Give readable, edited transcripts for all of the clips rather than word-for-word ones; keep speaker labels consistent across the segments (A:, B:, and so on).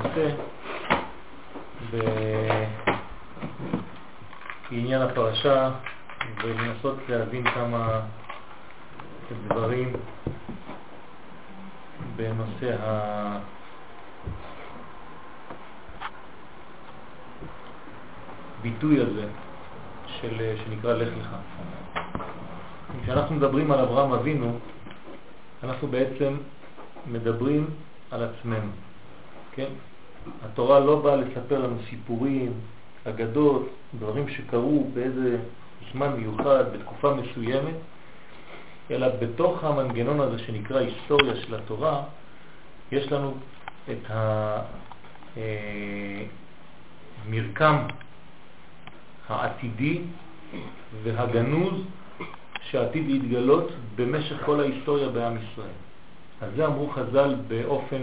A: ננסה בעניין הפרשה ולנסות להבין כמה דברים בנושא הביטוי הזה שנקרא לך לך. כשאנחנו מדברים על אברהם אבינו, אנחנו בעצם מדברים על עצמנו, כן? התורה לא באה לספר לנו סיפורים, אגדות, דברים שקרו באיזה זמן מיוחד, בתקופה מסוימת, אלא בתוך המנגנון הזה שנקרא היסטוריה של התורה, יש לנו את המרקם העתידי והגנוז שעתיד להתגלות במשך כל ההיסטוריה בעם ישראל. אז זה אמרו חז"ל באופן,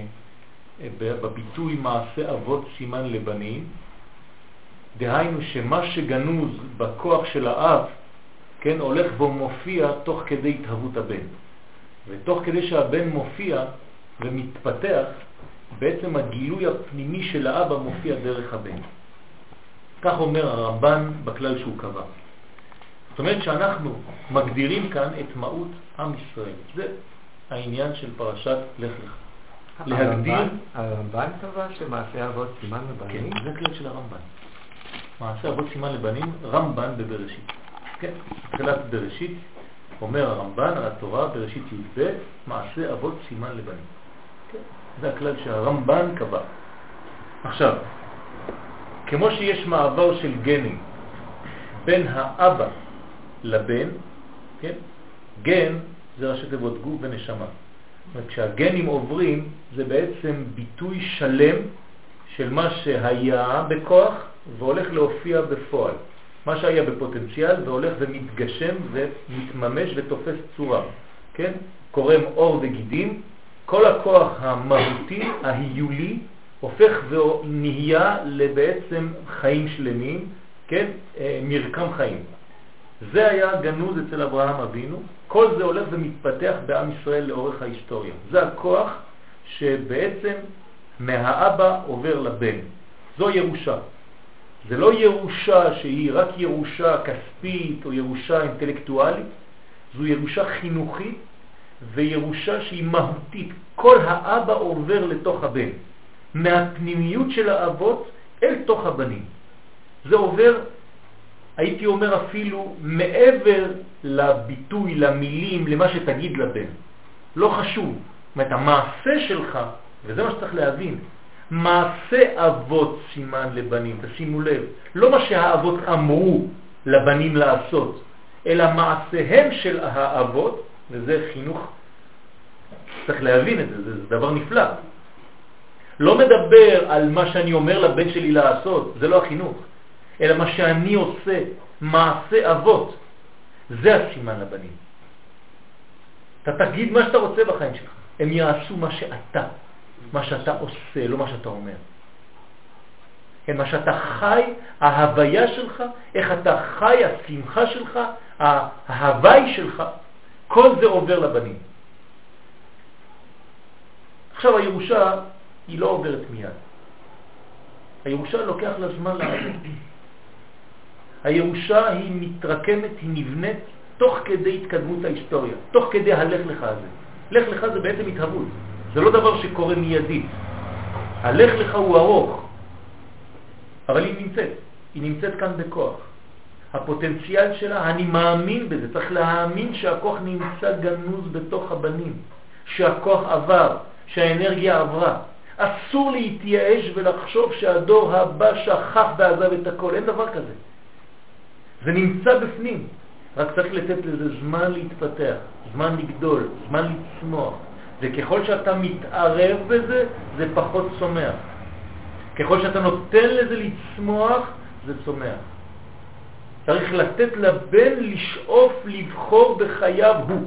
A: בביטוי מעשה אבות סימן לבנים, דהיינו שמה שגנוז בכוח של האב, כן, הולך ומופיע תוך כדי התהוות הבן. ותוך כדי שהבן מופיע ומתפתח, בעצם הגילוי הפנימי של האבא מופיע דרך הבן. כך אומר הרמב"ן בכלל שהוא קבע. זאת אומרת שאנחנו מגדירים כאן את מהות עם ישראל. זה העניין של פרשת לך לך.
B: הרמב"ן קבע שמעשה אבות סימן לבנים?
A: כן, זה כלל של הרמב"ן. מעשה אבות סימן לבנים, רמב"ן בבראשית. כן, תחילת בראשית אומר הרמב"ן על התורה בראשית י"ב, מעשה אבות סימן לבנים. כן, זה הכלל שהרמב"ן קבע. עכשיו, כמו שיש מעבר של גנים בין האבא לבן, כן? גן זה ראשי תיבות גוף ונשמה. כשהגנים עוברים זה בעצם ביטוי שלם של מה שהיה בכוח והולך להופיע בפועל. מה שהיה בפוטנציאל והולך ומתגשם ומתממש ותופס צורה. כן? קורם אור וגידים, כל הכוח המהותי, ההיולי, הופך ונהיה לבעצם חיים שלמים, כן? מרקם חיים. זה היה גנוז אצל אברהם אבינו. כל זה הולך ומתפתח בעם ישראל לאורך ההיסטוריה. זה הכוח שבעצם מהאבא עובר לבן. זו ירושה. זה לא ירושה שהיא רק ירושה כספית או ירושה אינטלקטואלית. זו ירושה חינוכית וירושה שהיא מהותית. כל האבא עובר לתוך הבן. מהפנימיות של האבות אל תוך הבנים. זה עובר, הייתי אומר אפילו, מעבר לביטוי, למילים, למה שתגיד לבן. לא חשוב. זאת אומרת, המעשה שלך, וזה מה שצריך להבין, מעשה אבות סימן לבנים, תשימו לב, לא מה שהאבות אמרו לבנים לעשות, אלא מעשיהם של האבות, וזה חינוך, צריך להבין את זה, זה דבר נפלא. לא מדבר על מה שאני אומר לבן שלי לעשות, זה לא החינוך, אלא מה שאני עושה, מעשה אבות, זה הסימן לבנים. אתה תגיד מה שאתה רוצה בחיים שלך, הם יעשו מה שאתה עושה, לא מה שאתה אומר. כן, מה שאתה חי, ההוויה שלך, איך אתה חי, השמחה שלך, ההווי שלך, כל זה עובר לבנים. עכשיו הירושה היא לא עוברת מיד. הירושה לוקח לה זמן לעבור. הירושה היא מתרקמת, היא נבנית תוך כדי התקדמות ההיסטוריה, תוך כדי הלך לך הזה. לך לך זה בעצם התהוות. זה לא דבר שקורה מיידית. הלך לך הוא ארוך, אבל היא נמצאת כאן בכוח. הפוטנציאל שלה, אני מאמין בזה, צריך להאמין שהכוח נמצא גנוז בתוך הבנים, שהכוח עבר, שהאנרגיה עברה. אסור להתייאש ולחשוב שהדור הבא שכח ועזב את הכל, אין דבר כזה. זה נמצא בפנים, רק צריך לתת לזה זמן להתפתח, זמן לגדול, זמן לצמוח. וככל שאתה מתערב בזה, זה פחות צומח. ככל שאתה נותן לזה לצמוח, זה צומח. צריך לתת לבן לשאוף, לבחור בחייו הוא.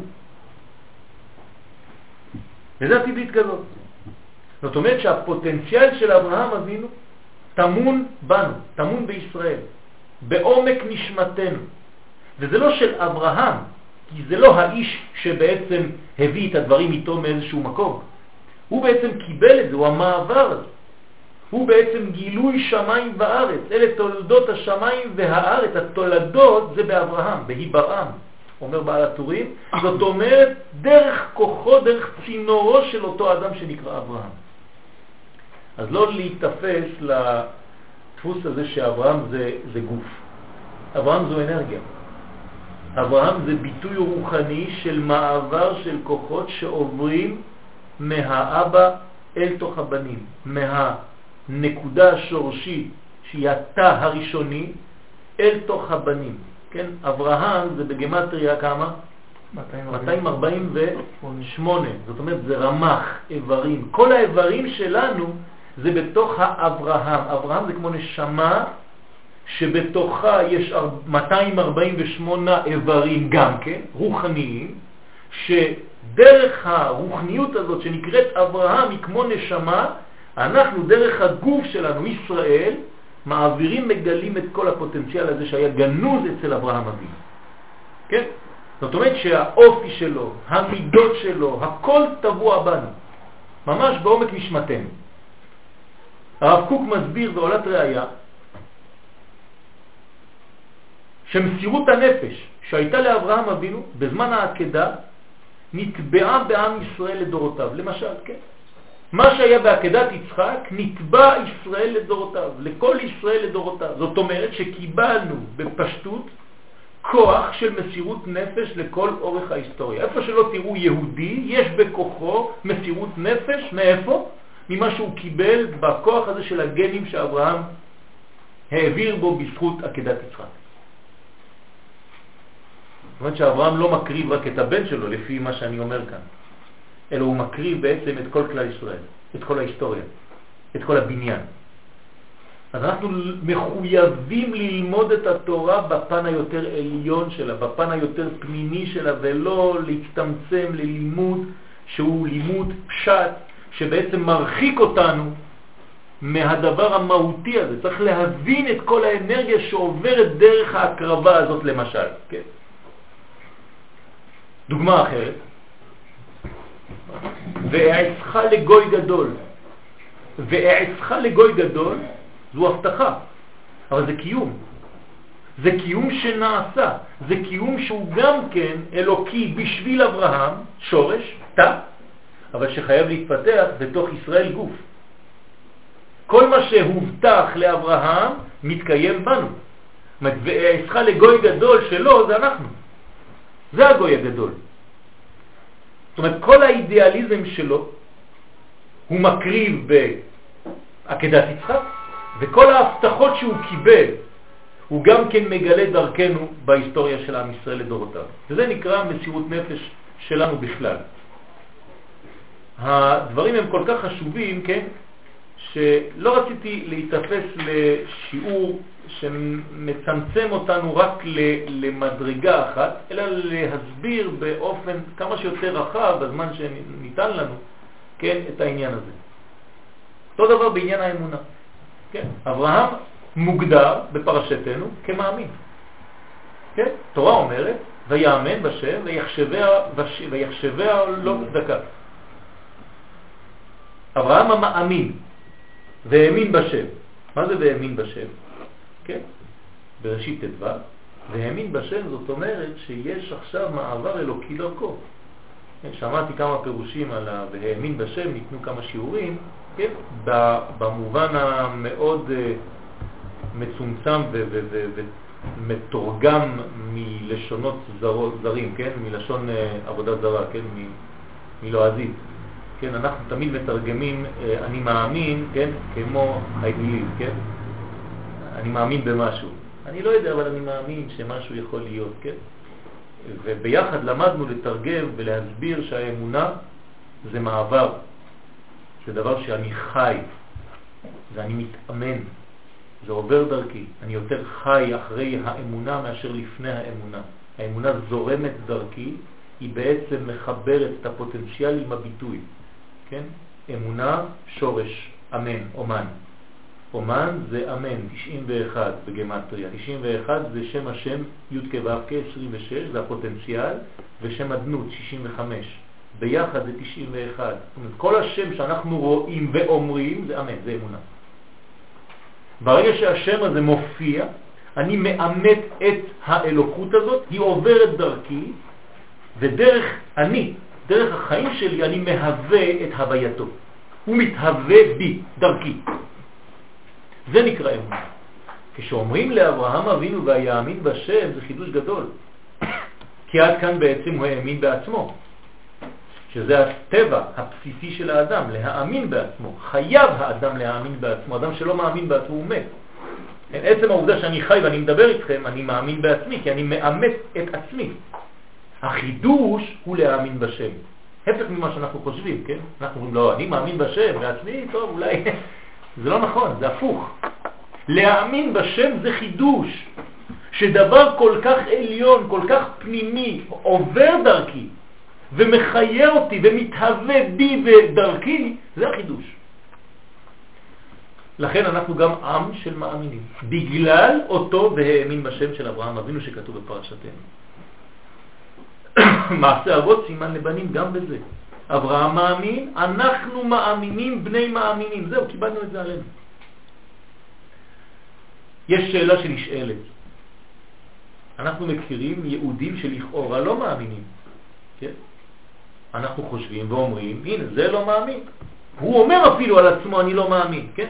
A: וזה עתיד להתגלות. זאת אומרת שהפוטנציאל של אברהם אבינו תמון בנו, תמון בישראל, בעומק נשמתנו. וזה לא של אברהם, כי זה לא האיש שבעצם הביא את הדברים איתו מאיזשהו מקום. הוא בעצם קיבל את זה, הוא המעבר הזה. הוא בעצם גילוי שמיים וארץ. אלה תולדות השמיים והארץ. התולדות זה באברהם, בהיברעם, אומר בעל הטורים. זאת אומרת, דרך כוחו, דרך צינורו של אותו אדם שנקרא אברהם. אז לא להתאפס לדפוס הזה שאברהם זה גוף. אברהם זו אנרגיה. אברהם זה ביטוי רוחני של מעבר של כוחות שעוברים מהאבא אל תוך הבנים, מהנקודה השורשית שהיא התא הראשוני אל תוך הבנים. כן? אברהם זה בגמטריה כמה? 248. זאת אומרת זה רמח איברים. כל האיברים שלנו זה בתוך האברהם. אברהם זה כמו נשמה שבתוכה יש 248 איברים גם כן, רוחניים, שדרך הרוחניות הזאת שנקראת אברהם היא כמו נשמה, אנחנו דרך הגוף שלנו, ישראל, מעבירים, מגלים את כל הפוטנציאל הזה שהיה גנוז אצל אברהם אבינו. כן? זאת אומרת שהאופי שלו, המידות שלו, הכל טבוע בנו, ממש בעומק נשמתנו. הרב קוק מסביר בעולת ראיה שמסירות הנפש שהייתה לאברהם אבינו בזמן העקדה נטבעה בעם ישראל לדורותיו. למשל, כן? מה שהיה בעקדת יצחק נטבע ישראל לדורותיו, לכל ישראל לדורותיו. זאת אומרת שקיבלנו בפשטות כוח של מסירות נפש לכל אורך ההיסטוריה. איפה שלא תראו יהודי, יש בכוחו מסירות נפש. מאיפה? ממה שהוא קיבל בכוח הזה של הגנים שאברהם העביר בו בזכות עקדת יצחק. זאת אומרת שאברהם לא מקריב רק את הבן שלו לפי מה שאני אומר כאן, אלא הוא מקריב בעצם את כל כלל ישראל, את כל ההיסטוריה, את כל הבניין. אז אנחנו מחויבים ללמוד את התורה בפן היותר עליון שלה, בפן היותר פנימי שלה, ולא להצטמצם ללימוד שהוא לימוד פשט, שבעצם מרחיק אותנו מהדבר המהותי הזה. צריך להבין את כל האנרגיה שעוברת דרך ההקרבה הזאת למשל. כן? דוגמה אחרת, ואעצך לגוי גדול. ואעצך לגוי גדול זו הבטחה, אבל זה קיום. זה קיום שנעשה, זה קיום שהוא גם כן אלוקי בשביל אברהם, שורש, תא, אבל שחייב להתפתח בתוך ישראל גוף. כל מה שהובטח לאברהם מתקיים בנו. ואעצך לגוי גדול שלו זה אנחנו. זה הגוי הגדול. זאת אומרת, כל האידיאליזם שלו הוא מקריב בעקדת יצחק, וכל ההבטחות שהוא קיבל הוא גם כן מגלה דרכנו בהיסטוריה של עם ישראל לדורותיו. וזה נקרא מסירות נפש שלנו בכלל. הדברים הם כל כך חשובים, כן, שלא רציתי להתאפס לשיעור שמצמצם אותנו רק למדרגה אחת, אלא להסביר באופן כמה שיותר רחב בזמן שניתן לנו, כן, את העניין הזה. אותו דבר בעניין האמונה. כן? אברהם מוגדר בפרשתנו כמאמין. כן? תורה אומרת, ויאמן בשם ויחשביה לא צדקה. אברהם המאמין והאמין בשם. מה זה והאמין בשם? כן? בראשית ט"ו, והאמין בשם זאת אומרת שיש עכשיו מעבר אלוקי דרכו. שמעתי כמה פירושים על והאמין בשם, ניתנו כמה שיעורים, כן? במובן המאוד מצומצם ומתורגם מלשונות זרים, כן? מלשון עבודה זרה, כן? מלועזית. כן? אנחנו תמיד מתרגמים אני מאמין, כן? כמו I believe, כן? אני מאמין במשהו. אני לא יודע, אבל אני מאמין שמשהו יכול להיות, כן? וביחד למדנו לתרגם ולהסביר שהאמונה זה מעבר. זה דבר שאני חי, ואני מתאמן, זה עובר דרכי. אני יותר חי אחרי האמונה מאשר לפני האמונה. האמונה זורמת דרכי, היא בעצם מחברת את הפוטנציאל עם הביטוי. כן? אמונה, שורש, אמן, אומן. אומן זה אמן, 91 בגמטריה. 91 זה שם השם י' כו' כ' 26, זה הפוטנציאל, ושם הדנות 65. ביחד זה 91. זאת אומרת, כל השם שאנחנו רואים ואומרים זה אמן, זה אמונה. ברגע שהשם הזה מופיע, אני מאמת את האלוקות הזאת, היא עוברת דרכי, ודרך דרך החיים שלי, אני מהווה את הווייתו. הוא מתהווה בי, דרכי. זה נקרא אמונה. כשאומרים לאברהם אבינו ויאמין בשם, זה חידוש גדול. כי עד כאן בעצם הוא האמין בעצמו. שזה הטבע הבסיסי של האדם, להאמין בעצמו. חייב האדם להאמין בעצמו. אדם שלא מאמין בעצמו הוא מת. עצם העובדה שאני חי ואני מדבר איתכם, אני מאמין בעצמי, כי אני מאמת את עצמי. החידוש הוא להאמין בשם. הפך ממה שאנחנו חושבים, כן? אנחנו אומרים, לא, אני מאמין בשם, בעצמי, טוב, אולי... זה לא נכון, זה הפוך. להאמין בשם זה חידוש. שדבר כל כך עליון, כל כך פנימי, עובר דרכי, ומחיה אותי, ומתהווה בי ודרכי, זה החידוש. לכן אנחנו גם עם של מאמינים. בגלל אותו והאמין בשם של אברהם אבינו שכתוב בפרשתנו. מעשה אבות סימן לבנים גם בזה. אברהם מאמין, אנחנו מאמינים, בני מאמינים. זהו, קיבלנו את זה עלינו. יש שאלה שנשאלת. אנחנו מכירים יהודים שלכאורה לא מאמינים. כן? אנחנו חושבים ואומרים, הנה, זה לא מאמין. הוא אומר אפילו על עצמו, אני לא מאמין. כן?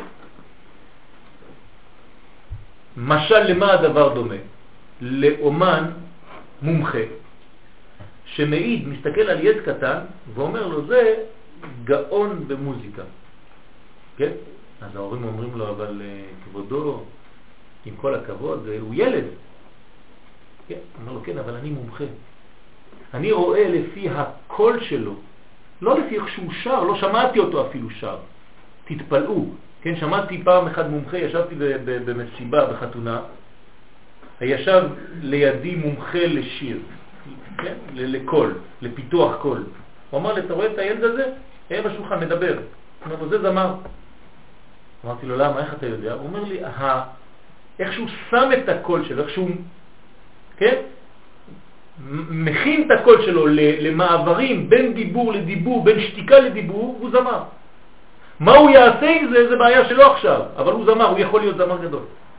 A: משל למה הדבר דומה? לאומן מומחה שמעיד, מסתכל על ילד קטן ואומר לו, זה גאון במוזיקה. כן? אז ההורים אומרים לו, אבל כבודו, עם כל הכבוד, הוא ילד. כן? אומר לו, כן, אבל אני מומחה. אני רואה לפי הקול שלו, לא לפי איך שהוא שר, לא שמעתי אותו אפילו שר. תתפלאו. כן, שמעתי פעם אחד מומחה, ישבתי במסיבה, בחתונה, ישב לידי מומחה לשיר, כן? לקול, לפיתוח קול. הוא אמר לי, אתה רואה את הילד הזה? היה בשולחן מדבר. הוא אומר לו, זה זמר. אמרתי לו, למה? איך אתה יודע? הוא אומר לי, איך שהוא שם את הקול שלו, איך שהוא, כן? מכין את הקול שלו למעברים בין דיבור לדיבור, בין שתיקה לדיבור, הוא זמר. מה הוא יעשה עם זה? זה בעיה שלו עכשיו, אבל הוא זמר, הוא יכול להיות זמר גדול.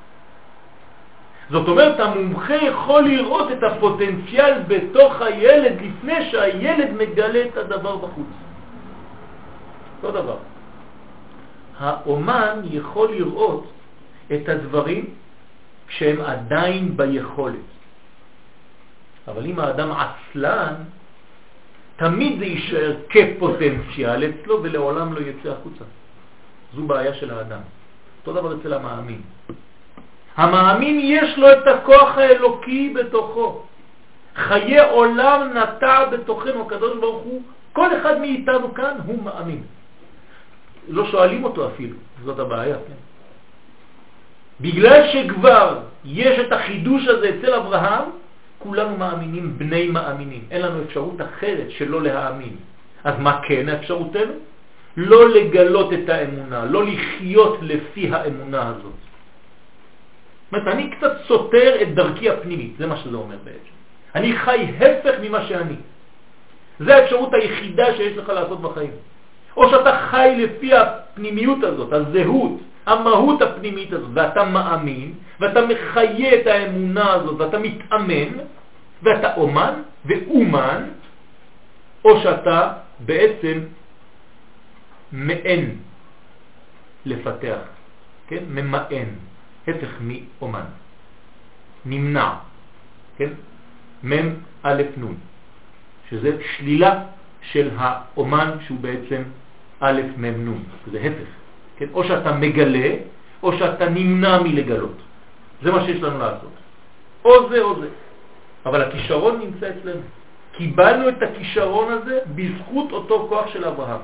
A: זאת אומרת, המומחה יכול לראות את הפוטנציאל בתוך הילד לפני שהילד מגלה את הדבר בחוץ. אותו דבר. האומן יכול לראות את הדברים כשהם עדיין ביכולת. אבל אם האדם עצלן, תמיד זה יישאר כפוטנציאל אצלו ולעולם לא יצא החוצה. זו בעיה של האדם. אותו דבר אצל המאמין. המאמין יש לו את הכוח האלוקי בתוכו. חיי עולם נטע בתוכנו, הקדוש ברוך הוא, כל אחד מאיתנו כאן הוא מאמין. לא שואלים אותו אפילו, זאת הבעיה. כן? בגלל שכבר יש את החידוש הזה אצל אברהם, כולנו מאמינים, בני מאמינים. אין לנו אפשרות אחרת שלא להאמין. אז מה כן האפשרותנו? לא לגלות את האמונה, לא לחיות לפי האמונה הזאת. זאת אומרת, אני קצת סותר את דרכי הפנימית, זה מה שזה אומר בעצם. אני חי הפך ממה שאני. זה האפשרות היחידה שיש לך לעשות בחיים. או שאתה חי לפי הפנימיות הזאת, הזהות, המהות הפנימית הזאת, ואתה מאמין, ואתה מחיה את האמונה הזאת, ואתה מתאמן, ואתה אומן ואומן, או שאתה בעצם מאן לפתח, כן? ממאן, הפך מאומן, נמנע, כן? מם א' נון, שזה שלילה של האומן שהוא בעצם א' מם נון, זה הפך, כן? או שאתה מגלה, או שאתה נמנע מלגלות. זה מה שיש לנו לעשות. או זה או זה. אבל הכישרון נמצא אצלנו. קיבלנו את הכישרון הזה בזכות אותו כוח של אברהם.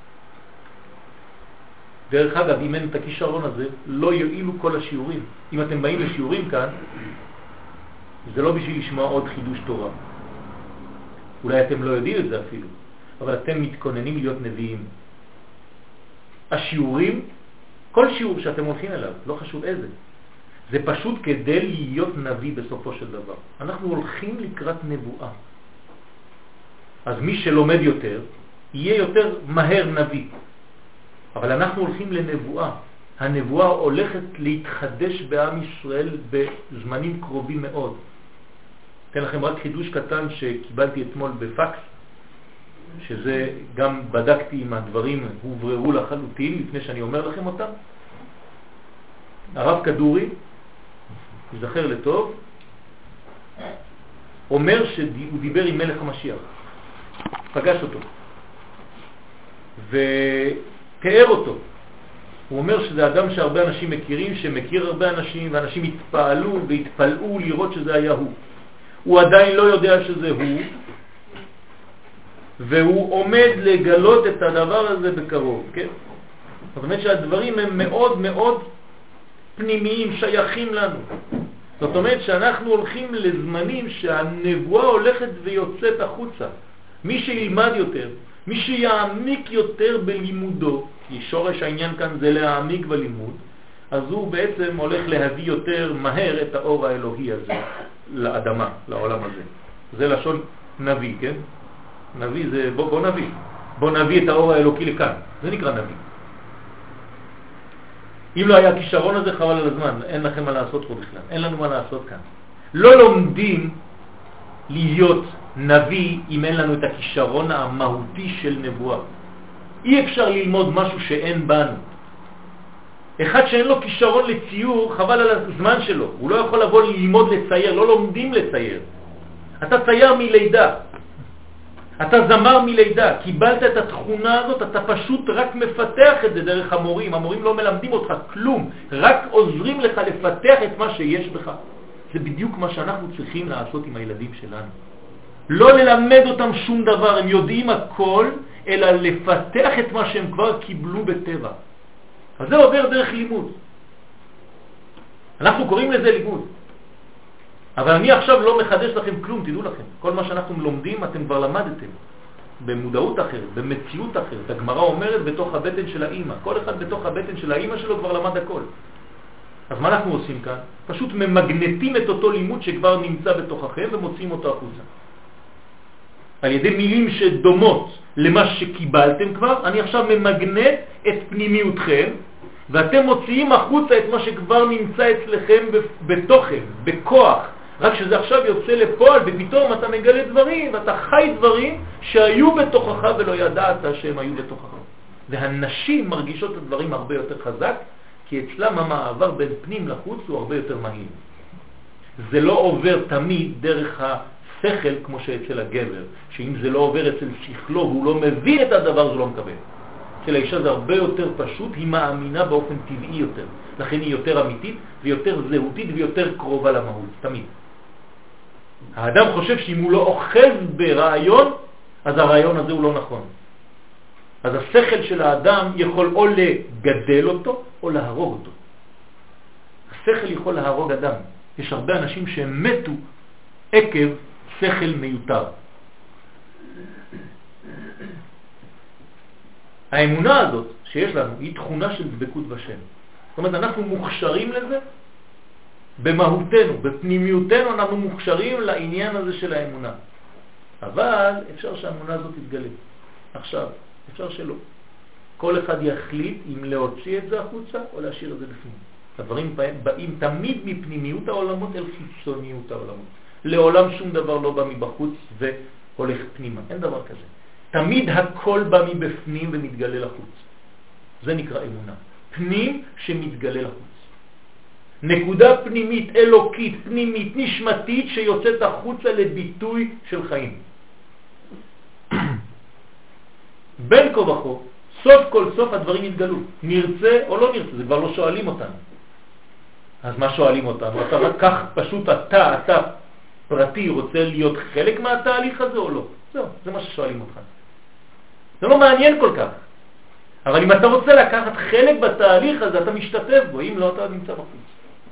A: דרך אגב, אם אין את הכישרון הזה, לא יועילו כל השיעורים. אם אתם באים לשיעורים כאן, זה לא בשביל לשמוע עוד חידוש תורה. אולי אתם לא יודעים את זה אפילו, אבל אתם מתכוננים להיות נביאים. השיעורים, כל שיעור שאתם הולכים אליו, לא חשוב איזה, זה פשוט כדי להיות נביא בסופו של דבר. אנחנו הולכים לקראת נבואה. אז מי שלומד יותר, יהיה יותר מהר נביא. אבל אנחנו הולכים לנבואה. הנבואה הולכת להתחדש בעם ישראל בזמנים קרובים מאוד. אתן לכם רק חידוש קטן שקיבלתי אתמול בפקס, שזה גם בדקתי אם הדברים הובררו לחלוטין לפני שאני אומר לכם אותם. הרב כדורי, יזכר לטוב, אומר שהוא דיבר עם מלך המשיח, פגש אותו ותיאר אותו. הוא אומר שזה אדם שהרבה אנשים מכירים, שמכיר הרבה אנשים, ואנשים התפעלו והתפלאו לראות שזה היה הוא. הוא עדיין לא יודע שזה הוא, והוא עומד לגלות את הדבר הזה בקרוב, כן? זאת אומרת שהדברים הם מאוד מאוד פנימיים, שייכים לנו. זאת אומרת שאנחנו הולכים לזמנים שהנבואה הולכת ויוצאת החוצה. מי שילמד יותר, מי שיעמיק יותר בלימודו, כי שורש העניין כאן זה להעמיק בלימוד, אז הוא בעצם הולך להביא יותר מהר את האור האלוהי הזה לאדמה, לעולם הזה. זה לשון נביא, כן? נביא זה בוא נביא את האור האלוקי לכאן. זה נקרא נביא. אם לא היה הכישרון הזה, חבל על הזמן, אין לכם מה לעשות פה בכלל, אין לנו מה לעשות כאן. לא לומדים להיות נביא אם אין לנו את הכישרון המהותי של נבואה. אי אפשר ללמוד משהו שאין בנו. אחד שאין לו כישרון לציור, חבל על הזמן שלו, הוא לא יכול לבוא ללמוד לצייר, לא לומדים לצייר. אתה צייר מלידה, אתה זמר מלידה, קיבלת את התכונה הזאת, אתה פשוט רק מפתח את זה דרך המורים. המורים לא מלמדים אותך כלום, רק עוזרים לך לפתח את מה שיש בך. זה בדיוק מה שאנחנו צריכים לעשות עם הילדים שלנו. לא ללמד אותם שום דבר, הם יודעים הכל, אלא לפתח את מה שהם כבר קיבלו בטבע. אז זה עובר דרך לימוד. אנחנו קוראים לזה לימוד. אבל אני עכשיו לא מחדש לכם כלום, תדעו לכם. כל מה שאנחנו לומדים אתם כבר למדתם. במודעות אחרת, במציאות אחרת. הגמרא אומרת בתוך הבטן של האמא. כל אחד בתוך הבטן של האמא שלו כבר למד הכל. אז מה אנחנו עושים כאן? פשוט ממגנטים את אותו לימוד שכבר נמצא בתוככם ומוצאים אותו החוצה. על ידי מילים שדומות למה שקיבלתם כבר, אני עכשיו ממגנט את פנימיותכם, ואתם מוציאים החוצה את מה שכבר נמצא אצלכם בתוכם, בכוח. רק שזה עכשיו יוצא לפועל, ופתאום אתה מגלה דברים, ואתה חי דברים שהיו בתוכך ולא ידעת שהם היו בתוכך. והנשים מרגישות את הדברים הרבה יותר חזק, כי אצלם המעבר בין פנים לחוץ הוא הרבה יותר מהיר. זה לא עובר תמיד דרך השכל כמו שאצל הגבר, שאם זה לא עובר אצל שכלו והוא לא מבין את הדבר, זה לא מקבל. אצל האישה זה הרבה יותר פשוט, היא מאמינה באופן טבעי יותר. לכן היא יותר אמיתית ויותר זהותית ויותר קרובה למהות, תמיד. האדם חושב שאם הוא לא אוחז ברעיון, אז הרעיון הזה הוא לא נכון. אז השכל של האדם יכול או לגדל אותו או להרוג אותו. השכל יכול להרוג אדם. יש הרבה אנשים שהם מתו עקב שכל מיותר. האמונה הזאת שיש לנו היא תכונה של דבקות בשם. זאת אומרת, אנחנו מוכשרים לזה במהותנו, בפנימיותנו אנחנו מוכשרים לעניין הזה של האמונה. אבל אפשר שהאמונה הזאת תתגלה. עכשיו, אפשר שלא. כל אחד יחליט אם להוציא את זה החוצה או להשאיר את זה בפנים. הדברים באים תמיד מפנימיות העולמות אל חיצוניות העולמות. לעולם שום דבר לא בא מבחוץ והולך פנימה. אין דבר כזה. תמיד הכל בא מבפנים ומתגלה לחוץ. זה נקרא אמונה. פנים שמתגלה לחוץ. נקודה פנימית, אלוקית, פנימית, נשמתית שיוצאת החוצה לביטוי של חיים. בין כה וכה, סוף כל סוף הדברים יתגלו. נרצה או לא נרצה, זה כבר לא שואלים אותנו. אז מה שואלים אותנו? אתה רק כך פשוט אתה פרטי רוצה להיות חלק מהתהליך הזה או לא? זהו, זה מה ששואלים אותך. זה לא מעניין כל כך. אבל אם אתה רוצה לקחת חלק בתהליך הזה, אתה משתתף בו, אם לא, אתה נמצא בחוץ.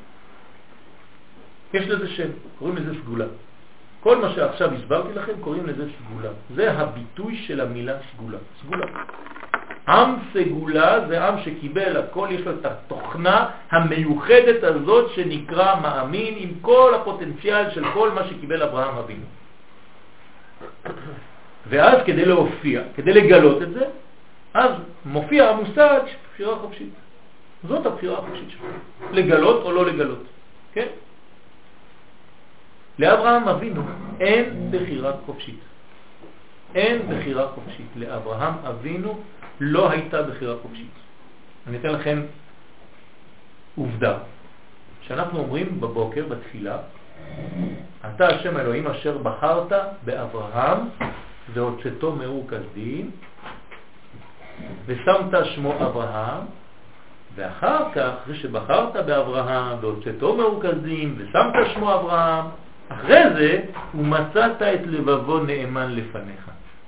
A: יש לזה שם, קוראים לזה סגולה. כל מה שעכשיו הסברתי לכם קוראים לזה סגולה. זה הביטוי של המילה סגולה. סגולה. עם סגולה זה עם שקיבל הכל, יש לו את התוכנה המיוחדת הזאת שנקרא מאמין, עם כל הפוטנציאל של כל מה שקיבל אברהם אבינו. ואז כדי להופיע, כדי לגלות את זה, אז מופיע המושג בחירה חופשית. זאת הבחירה החופשית שלך. לגלות או לא לגלות. כן? לאברהם אבינו אין בחירה חופשית. אין בחירה חופשית. לאברהם אבינו לא הייתה בחירה חופשית. אני אתן לכם עובדה. שאנחנו אומרים בבוקר, בתפילה, אתה השם אלוהים אשר בחרת באברהם והוצאתו מאור כסדים ושמת שמו אברהם, ואחר כך, אחרי שבחרת באברהם והוצאתו מאור כסדים ושמת שמו אברהם, אחרי זה ומצאת את לבבו נאמן לפניך.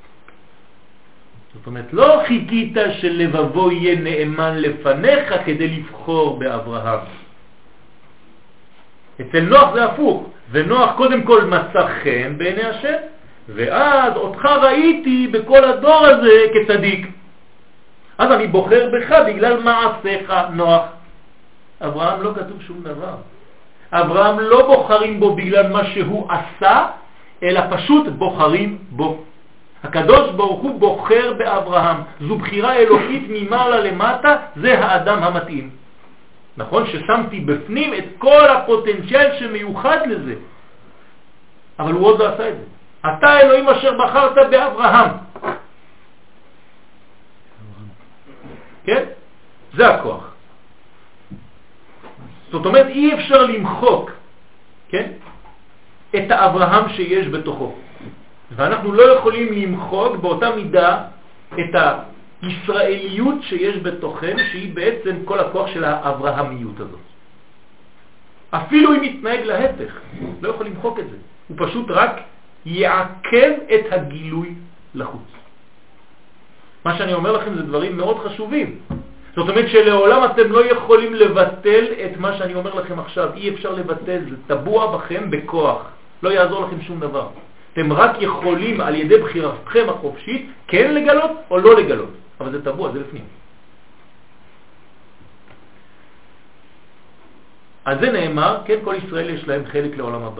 A: זאת אומרת, לא חיכית שלבבו יהיה נאמן לפניך כדי לבחור באברהם. אצל נוח זה הפוך, ונוח קודם כל מצא חן בעיני השם, ואז אותך ראיתי בכל הדור הזה כצדיק. אז אני בוחר בך בגלל מעשיך, נוח. אברהם לא כתוב שום דבר. אברהם לא בוחרים בו בגלל מה שהוא עשה, אלא פשוט בוחרים בו. הקדוש ברוך הוא בוחר באברהם. זו בחירה אלוקית ממעלה למטה, זה האדם המתאים. נכון ששמתי בפנים את כל הפוטנציאל שמיוחד לזה. אבל הוא עוד לא עשה את זה. אתה אלוהים אשר בחרת באברהם. כן? זה הכוח. זאת אומרת, אי אפשר למחוק, כן? את האברהם שיש בתוכו. ואנחנו לא יכולים למחוק באותה מידה את הישראליות שיש בתוכנו, שהיא בעצם כל הכוח של האברהמיות הזאת. אפילו אם יתנהג להפך, לא יכול למחוק את זה. הוא פשוט רק יעכב את הגילוי לחוץ. מה שאני אומר לכם זה דברים מאוד חשובים. זאת אומרת שלעולם אתם לא יכולים לבטל את מה שאני אומר לכם עכשיו. אי אפשר לבטל, זה טבוע בכם בכוח. לא יעזור לכם שום דבר. אתם רק יכולים על ידי בחירתכם החופשית כן לגלות או לא לגלות. אבל זה טבוע, זה לפנים. אז זה נאמר, כן, כל ישראל יש להם חלק לעולם הבא.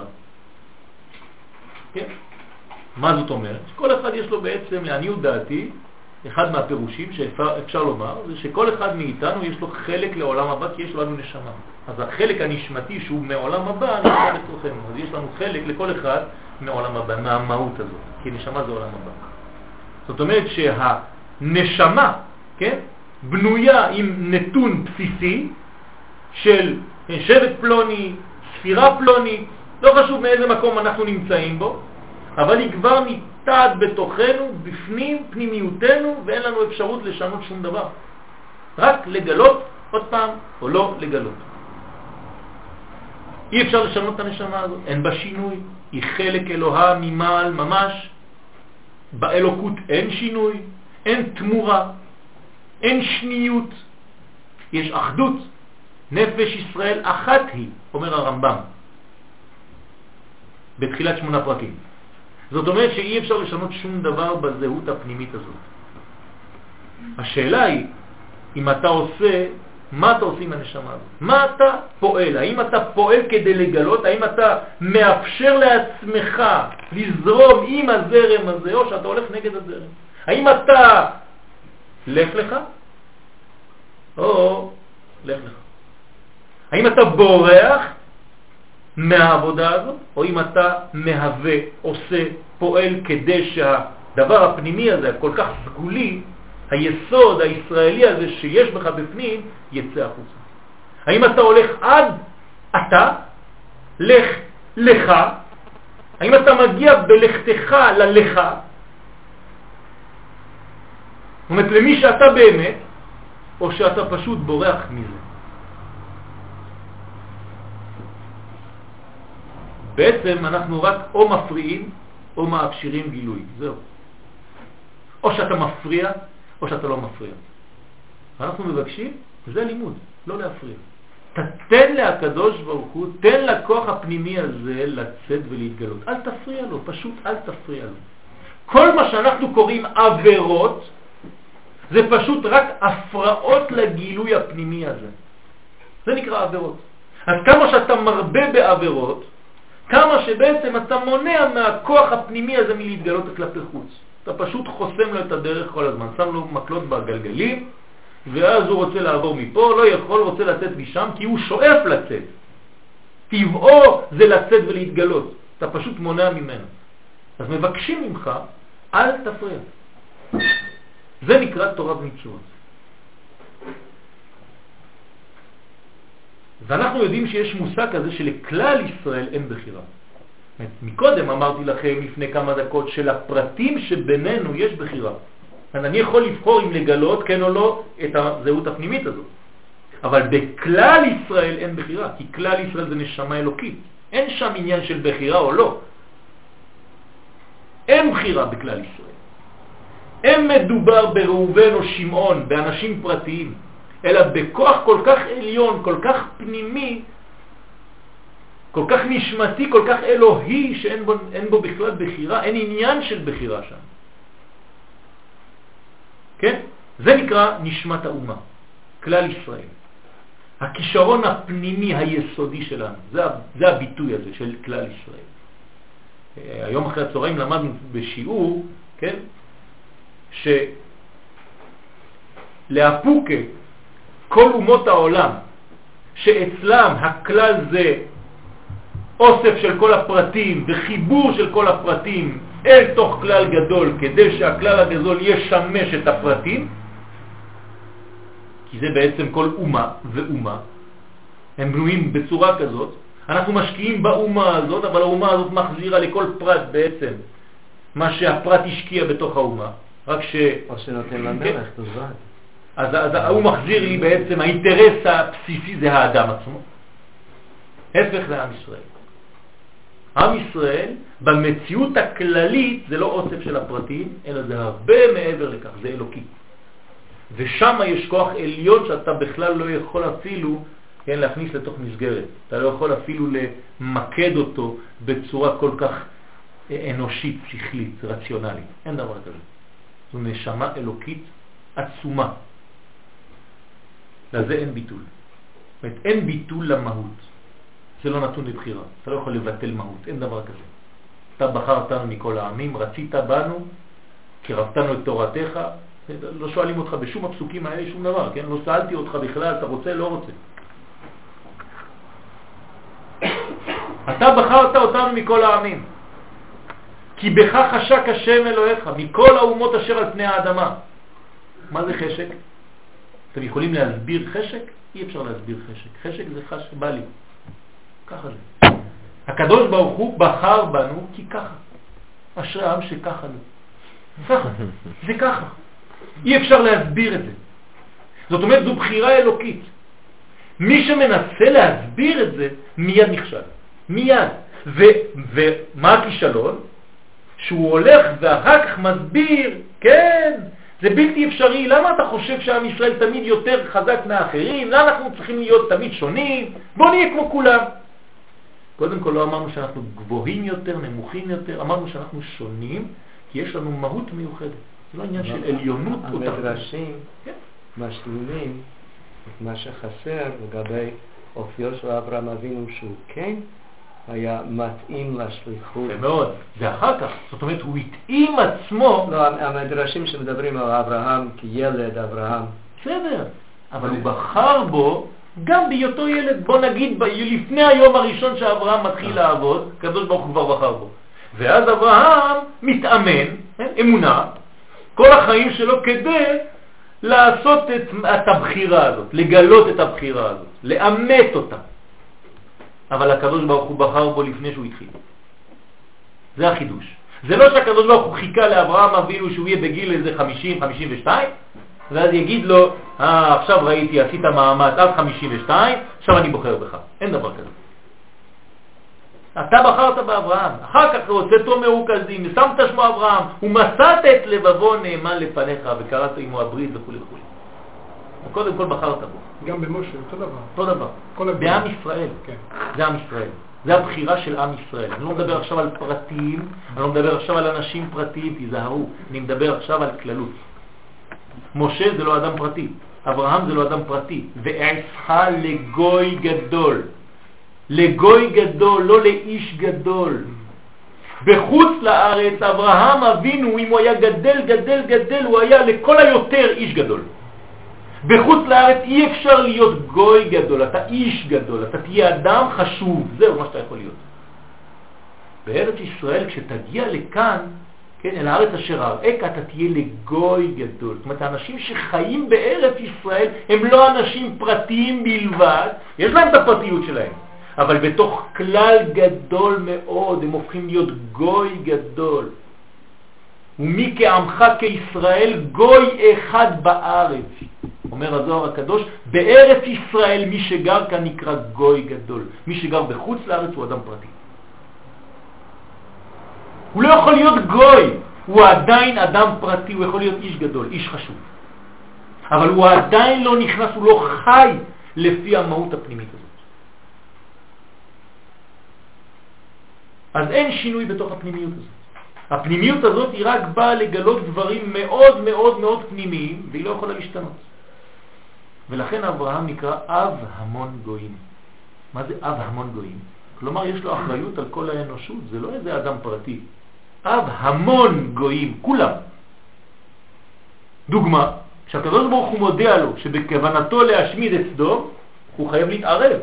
A: כן? מה זאת אומרת? כל אחד יש לו בעצם, לעניות דעתי, אחד מהפירושים שאפשר לומר, זה שכל אחד מאיתנו יש לו חלק לעולם הבא, כי יש לנו נשמה. אז החלק הנשמתי שהוא מעולם הבא, נשמע בתוכנו. אז יש לנו חלק לכל אחד מעולם הבא, מהמהות הזאת, כי נשמה זה עולם הבא. זאת אומרת שהנשמה, כן, בנויה עם נתון בסיסי של שבט פלוני, ספירה פלוני, לא חשוב מאיזה מקום אנחנו נמצאים בו, אבל היא כבר ניתעת בתוכנו, בפנים, פנימיותנו, ואין לנו אפשרות לשנות שום דבר. רק לגלות עוד פעם, או לא לגלות. אי אפשר לשנות את הנשמה הזאת, אין בה שינוי, היא חלק אלוהה ממעל ממש, באלוקות אין שינוי, אין תמורה, אין שניות, יש אחדות, נפש ישראל אחת היא, אומר הרמב"ם, בתחילת 8 פרקים. זאת אומרת שאי אפשר לשנות שום דבר בזהות הפנימית הזאת. השאלה היא, אם אתה עושה, מה אתה עושה עם הנשמה הזאת? מה אתה פועל? האם אתה פועל כדי לגלות? האם אתה מאפשר לעצמך לזרום עם הזרם הזה, או שאתה הולך נגד הזרם? האם אתה לך לך, או לך לך? האם אתה בורח מהעבודה הזאת, או אם אתה מהווה, עושה, פועל כדי שהדבר הפנימי הזה, כל כך סגולי, היסוד הישראלי הזה שיש בך בפנים, יצא החוצה. האם אתה הולך עד אתה, לך לך, האם אתה מגיע בלכתך ללך, זאת אומרת למי שאתה באמת, או שאתה פשוט בורח מזה. בעצם אנחנו רק או מפריעים או מאפשרים גילוי, זהו. או שאתה מפריע או שאתה לא מפריע. אנחנו מבקשים, זה לימוד, לא להפריע. תתן להקדוש ברוך הוא, תן לכוח הפנימי הזה לצאת ולהתגלות. אל תפריע לו, פשוט אל תפריע לו. כל מה שאנחנו קוראים עבירות, זה פשוט רק הפרעות לגילוי הפנימי הזה. זה נקרא עבירות. אז כמה שאתה מרבה בעבירות, כמה שבעצם אתה מונע מהכוח הפנימי הזה מלהתגלות כלפי חוץ. אתה פשוט חוסם לו את הדרך כל הזמן, שם לו מקלות בגלגלים, ואז הוא רוצה לעבור מפה, לא יכול, רוצה לצאת משם, כי הוא שואף לצאת. טבעו זה לצאת ולהתגלות. אתה פשוט מונע ממנו. אז מבקשים ממך, אל תפריע. זה נקרא תורה ומצוות. ואנחנו יודעים שיש מושג כזה שלכלל ישראל אין בחירה. מקודם אמרתי לכם לפני כמה דקות שלפרטים שבינינו יש בחירה. אני יכול לבחור אם לגלות כן או לא את הזהות הפנימית הזאת. אבל בכלל ישראל אין בחירה, כי כלל ישראל זה נשמה אלוקית. אין שם עניין של בחירה או לא. אין בחירה בכלל ישראל. אין מדובר בראובן או שמעון, באנשים פרטיים, אלא בכוח כל כך עליון, כל כך פנימי, כל כך נשמתי, כל כך אלוהי, שאין בו בכלל בחירה, אין עניין של בחירה שם. כן? זה נקרא נשמת האומה, כלל ישראל. הכישרון הפנימי היסודי שלנו, זה הביטוי הזה של כלל ישראל. היום אחרי הצהריים למדנו בשיעור, כן? שלהפוקה כל אומות העולם, שאצלם הכלל זה אוסף של כל הפרטים וחיבור של כל הפרטים אל תוך כלל גדול, כדי שהכלל הגדול ישמש את הפרטים, כי זה בעצם כל אומה ואומה, הם בנויים בצורה כזאת. אנחנו משקיעים באומה הזאת, אבל האומה הזאת מחזירה לכל פרט בעצם מה שהפרט השקיע בתוך האומה, רק
B: או שנותן למלך, תוזרד.
A: אז הוא מחזיר לי בעצם, האינטרס הבסיסי זה האדם עצמו. הפך לעם ישראל. עם ישראל במציאות הכללית זה לא אוסף של הפרטים, אלא זה הרבה מעבר לכך, זה אלוקי. ושם יש כוח עליון שאתה בכלל לא יכול אפילו להכניס לתוך מסגרת. אתה לא יכול אפילו למקד אותו בצורה כל כך אנושית, שכלית, רציונלית. אין דבר כזה. זו נשמה אלוקית עצומה. לזה אין ביטול. זאת אומרת, אין ביטול למהות. זה לא נתון לבחירה. אתה לא יכול לבטל מהות. אין דבר כזה. אתה בחרתנו מכל העמים, רצית בנו, קרבתנו את תורתך. לא שואלים אותך בשום הפסוקים האלה שום דבר, כן? לא שאלתי אותך בכלל, אתה רוצה, לא רוצה. אתה בחרת אותנו מכל העמים. כי בך חשק השם אלוהיך, מכל האומות אשר על פני האדמה. מה זה חשק? אתם יכולים להסביר חשק? אי אפשר להסביר חשק. חשק זה חשק בא לי. ככה זה. הקדוש ברוך הוא בחר בנו כי ככה. אשרי העם שככה לו. ככה. זה ככה. אי אפשר להסביר את זה. זאת אומרת, זו בחירה אלוקית. מי שמנסה להסביר את זה, מיד נכשל. מיד. ומה הכישלון? שהוא הולך ואחר כך מסביר, כן, זה בלתי אפשרי. למה אתה חושב שעם ישראל תמיד יותר חזק מהאחרים? למה אנחנו צריכים להיות תמיד שונים? בוא נהיה כמו כולם. קודם כל לא אמרנו שאנחנו גבוהים יותר, נמוכים יותר, אמרנו שאנחנו שונים, כי יש לנו מהות מיוחדת. זה לא עניין של עליונות.
B: המדרשים משלימים את מה שחסר לגבי אופיו של אברהם אבינו, שהוא כן היה מתאים לשליחות.
A: זה מאוד, זה אחר כך. זאת אומרת, הוא התאים עצמו.
B: לא, המדרשים שמדברים על אברהם כילד אברהם.
A: בסדר, אבל הוא בחר בו גם בהיותו ילד. בוא נגיד, לפני היום הראשון שאברהם מתחיל לעבוד, הקדוש ברוך הוא כבר בחר בו. ואז אברהם מתאמן, אמונה, כל החיים שלו כדי לעשות את הבחירה הזאת, לגלות את הבחירה הזאת, לאמת אותה. אבל הקדוש ברוך הוא בחר בו לפני שהוא התחיל. זה החידוש. זה לא שהקדוש ברוך הוא חיכה לאברהם אבינו שהוא יהיה בגיל איזה 50, 52, ואז יגיד לו, עכשיו ראיתי, עשית מאמץ עד 52, עכשיו אני בוחר בך. אין דבר כזה. אתה בחרת באברהם, אחר כך הוצאתו מרוכזים, שמת שמו אברהם, ומצאת את לבבו נאמן לפניך, וקראת עמו הברית וכו' וכו'. קודם כל בחרת בו.
C: גם במשה, אותו דבר.
A: אותו דבר. בעם ישראל.
C: כן.
A: זה עם ישראל. זה הבחירה של עם ישראל. אני לא מדבר עכשיו על פרטים, אני לא מדבר עכשיו על אנשים פרטיים, תיזהרו. אני מדבר עכשיו על כללות. משה זה לא אדם פרטי, אברהם זה לא אדם פרטי. ועשך לגוי גדול. לגוי גדול, לא לאיש גדול. בחוץ לארץ אברהם אבינו, אם הוא היה גדל, הוא היה לכל היותר איש גדול. בחוץ לארץ אי אפשר להיות גוי גדול, אתה איש גדול, אתה תהיה אדם חשוב, זהו מה שאתה יכול להיות. בארץ ישראל כשתגיע לכאן, כן, אל הארץ אשר אראך, אתה תהיה לגוי גדול. זאת אומרת, האנשים שחיים בארץ ישראל הם לא אנשים פרטיים בלבד, יש להם את הפרטיות שלהם, אבל בתוך כלל גדול מאוד הם הופכים להיות גוי גדול. ומי כעמך כישראל גוי אחד בארץ. אומר הזוהר הקדוש, בארץ ישראל מי שגר כאן נקרא גוי גדול. מי שגר בחוץ לארץ הוא אדם פרטי. הוא לא יכול להיות גוי, הוא עדיין אדם פרטי, הוא יכול להיות איש גדול, איש חשוב. אבל הוא עדיין לא נכנס, הוא לא חי לפי המהות הפנימית הזאת. אז אין שינוי בתוך הפנימיות הזאת. הפנימיות הזאת היא רק באה לגלות דברים מאוד מאוד מאוד פנימיים, והיא לא יכולה להשתנות. ולכן אברהם נקרא אב המון גויים. מה זה אב המון גויים? כלומר יש לו אחריות על כל האנושות, זה לא איזה אדם פרטי. אב המון גויים, כולם. דוגמה, כשהקדוש ברוך הוא מודיע לו שבכוונתו להשמיד את סדום, הוא חייב להתערב.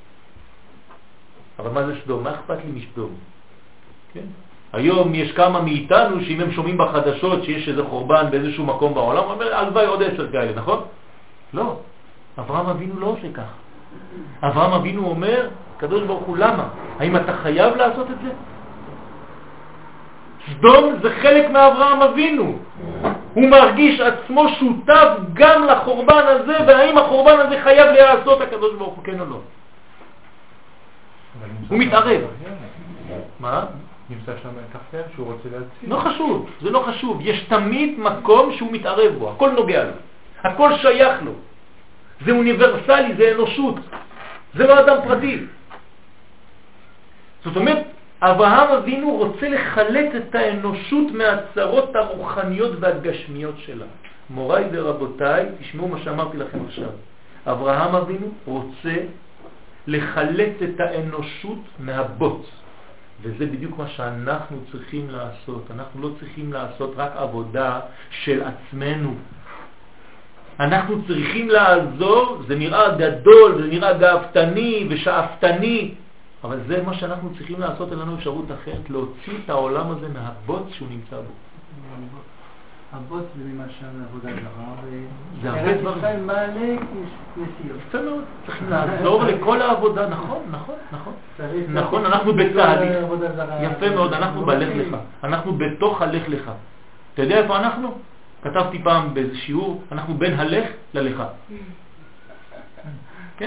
A: אבל מה זה סדום? מה אכפת לי משדום? כן? היום יש כמה מאיתנו שאם הם שומעים בחדשות שיש איזה חורבן באיזשהו מקום בעולם, הוא אומר, הלוואי עוד 10 כאלה, נכון? לא. אברהם אבינו לא עושה כך. אברהם אבינו אומר, הקדוש ברוך הוא, למה? האם אתה חייב לעשות את זה? סדום זה חלק מאברהם אבינו. הוא מרגיש עצמו שותף גם לחורבן הזה, והאם החורבן הזה חייב לעשות הקדוש ברוך הוא, כן או לא? הוא מתערב. מה?
C: נמצא שם כפר שהוא רוצה להציל.
A: לא חשוב, זה לא חשוב. יש תמיד מקום שהוא מתערב בו, הכל נוגע לו, הכל שייך לו. זה אוניברסלי, זה אנושות, זה לא אדם פרטי. זאת אומרת, אברהם אבינו רוצה לחלט את האנושות מהצרות הרוחניות והגשמיות שלה. מוריי ורבותיי, תשמעו מה שאמרתי לכם עכשיו. אברהם אבינו רוצה לחלט את האנושות מהבוץ. וזה בדיוק מה שאנחנו צריכים לעשות. אנחנו לא צריכים לעשות רק עבודה של עצמנו. אנחנו צריכים לעזור, זה נראה גדול, זה נראה גאוותני ושאפתני, אבל זה מה שאנחנו צריכים לעשות, אין לנו אפשרות אחרת, להוציא את העולם הזה מהבוץ שהוא נמצא בו.
D: הבוץ זה למשל עבודה זרה,
A: זה הרבה דברים.
D: ארץ ישראל מעלה כנסיות.
A: יפה מאוד, צריכים לעזור לכל העבודה, נכון, נכון, נכון. נכון, אנחנו בצהליך. יפה מאוד, אנחנו בלך לך. אנחנו בתוך הלך לך. אתה יודע איפה אנחנו? כתבתי פעם באיזה שיעור, אנחנו בין הלך ללך. כן?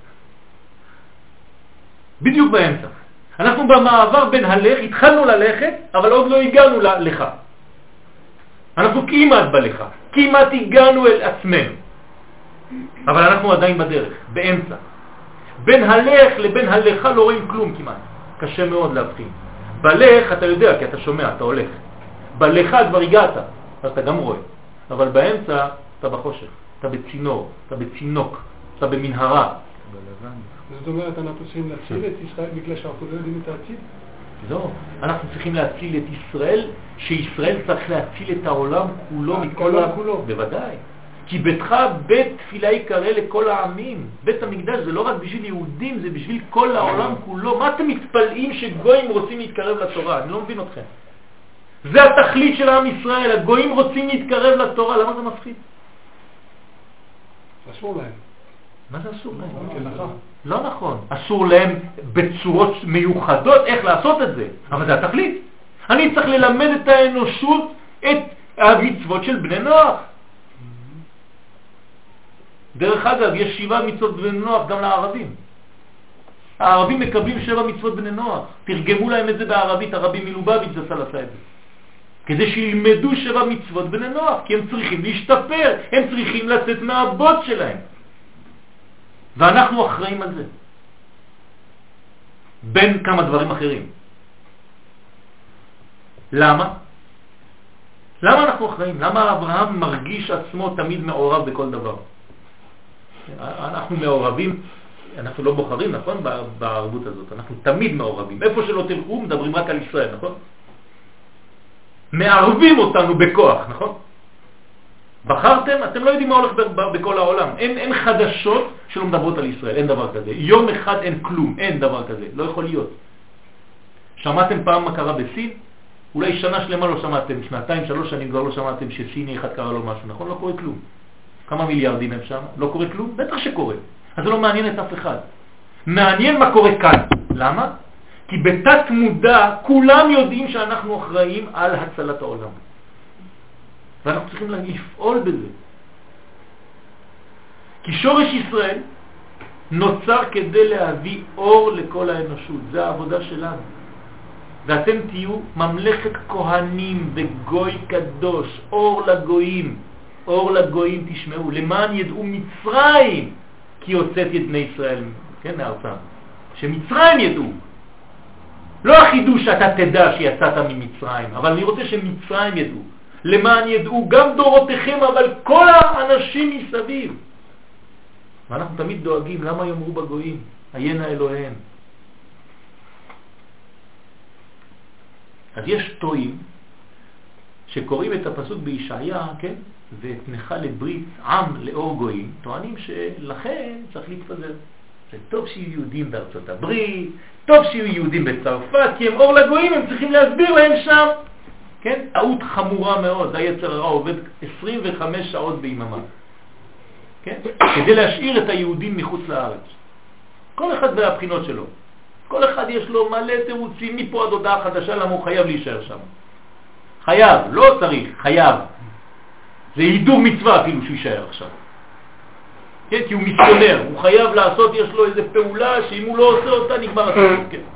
A: בדיוק באמצע. אנחנו במעבר בין הלך, התחלנו ללכת, אבל עוד לא הגענו ללך. אנחנו כמעט בלך, כמעט הגענו אל עצמנו. אבל אנחנו עדיין בדרך, באמצע. בין הלך לבין הלך לא רואים כלום כמעט. קשה מאוד להבחין. בלך אתה יודע, כי אתה שומע, אתה הולך. בלך כבר הגעת, אתה גם רואה. אבל באמצע אתה בחושך, אתה בצינור, אתה בצינוק, אתה במנהרה.
C: זאת אומרת, אנחנו צריכים להציל את ישראל בגלל שאנחנו לא יודעים את העתיד?
A: לא, אנחנו צריכים להציל את ישראל, שישראל צריך להציל את העולם כולו מכל
C: כולו.
A: בוודאי. כי ביתך בית תפילה יקרא לכל העמים. בית המקדש זה לא רק בשביל יהודים, זה בשביל כל העולם כולו. מה אתם מתפלאים שגויים רוצים להתקרב לתורה? אני לא מבין אתכם. זה התכלית של עם ישראל, הגויים רוצים להתקרב לתורה, למה זה מפחיד?
C: אסור להם.
A: מה זה אסור להם?
C: כנחה.
A: לא נכון, אסור להם בצורות מיוחדות איך לעשות את זה, אבל זה התכלית. אני צריך ללמד את האנושות את המצוות של בני נוח. דרך אגב, יש 7 מצוות בני נוח גם לערבים. הערבים מקבלים 7 מצוות בני נוח. תרגמו להם את זה בערבית, הרבי מלובביץ' זצ"ל עשה את זה. כדי שילמדו 7 מצוות בני נוח, כי הם צריכים להשתפר, הם צריכים לצאת מהבוץ שלהם. ואנחנו אחראים על זה. בין כמה דברים אחרים. למה? למה אנחנו אחראים? למה אברהם מרגיש עצמו תמיד מעורב בכל דבר? אנחנו מעורבים, אנחנו לא בוחרים, נכון? בערבות הזאת. אנחנו תמיד מעורבים. איפה שלא תלכו, מדברים רק על ישראל, נכון? מערבים אותנו בכוח, נכון? בחרתם, אתם לא יודעים מה הולך בכל העולם. אין חדשות שלא מדברות על ישראל, אין דבר כזה. יום אחד אין כלום, אין דבר כזה, לא יכול להיות. שמעתם פעם מה קרה בסין? אולי שנה שלמה לא שמעתם, 2, 3 שנים כבר לא שמעתם שסיני אחד קרה לו משהו, נכון? לא קורה כלום. כמה מיליארדים הם שם? לא קורה כלום? בטח שקורה. אז זה לא מעניין את אף אחד. מעניין מה קורה כאן. למה? כי בתת מודע כולם יודעים שאנחנו אחראים על הצלת העולם. ואנחנו צריכים לפעול בזה. כי שורש ישראל נוצר כדי להביא אור לכל האנושות. זה העבודה שלנו. ואתם תהיו ממלכת כהנים וגוי קדוש, אור לגויים. אור לגויים תשמעו, למען ידעו מצרים, כי הוצאתי את בני ישראל, כן, מארצם. שמצרים ידעו. לא החידוש שאתה תדע שיצאת ממצרים, אבל אני רוצה שמצרים ידעו. למען ידעו גם דורותיכם, אבל כל האנשים מסביב. ואנחנו תמיד דואגים, למה יאמרו בגויים? עיינה אלוהיהם. אז יש טועים שקוראים את הפסוק בישעיה, כן? ואתנך לברית עם לאור גויים, טוענים שלכן צריך להתפזר. זה טוב שיהיו יהודים בארצות הברית, טוב שיהיו יהודים בצרפת, כי הם אור לגויים, הם צריכים להסביר להם שם. כן? טעות חמורה מאוד, היצר הרע עובד 25 שעות ביממה. כן? כדי להשאיר את היהודים מחוץ לארץ. כל אחד והבחינות שלו. כל אחד יש לו מלא תירוצים מפה עד הודעה חדשה למה הוא חייב להישאר שם. חייב, לא צריך, חייב. זה הידור מצווה אפילו שהוא יישאר עכשיו. כן, כי הוא מיסיונר, הוא חייב לעשות, יש לו איזה פעולה שאם הוא לא עושה אותה נגמר הסיפור. כן.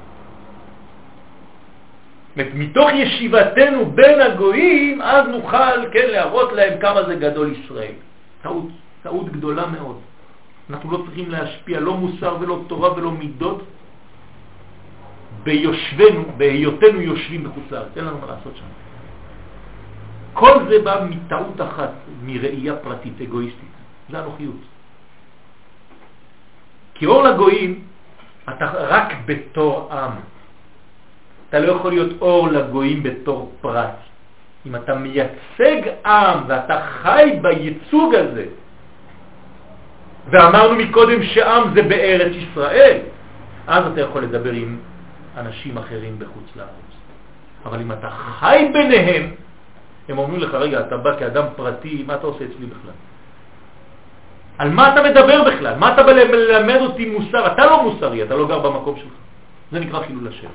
A: מתוך ישיבתנו בין הגויים, אז נוכל, כן, להראות להם כמה זה גדול ישראל. טעות גדולה מאוד. אנחנו לא צריכים להשפיע לא מוסר ולא תורה ולא מידות ביושבנו, בהיותנו יושבים בחוץ לארץ. אין לנו מה לעשות שם. כל זה בא מטעות אחת, מראייה פרטית, אגואיסטית. זה הנוחיות. כי אור לגויים, אתה רק בתור עם. אתה לא יכול להיות אור לגויים בתור פרט. אם אתה מייצג עם ואתה חי בייצוג הזה, ואמרנו מקודם שעם זה בארץ ישראל, אז אתה יכול לדבר עם אנשים אחרים בחוץ לארץ. אבל אם אתה חי ביניהם, הם אומרים לך, רגע, אתה בא כאדם פרטי, מה אתה עושה אצלי בכלל? על מה אתה מדבר בכלל? מה אתה בא ללמד אותי מוסר? אתה לא מוסרי, אתה לא גר במקום שלך. זה נקרא חילול השם.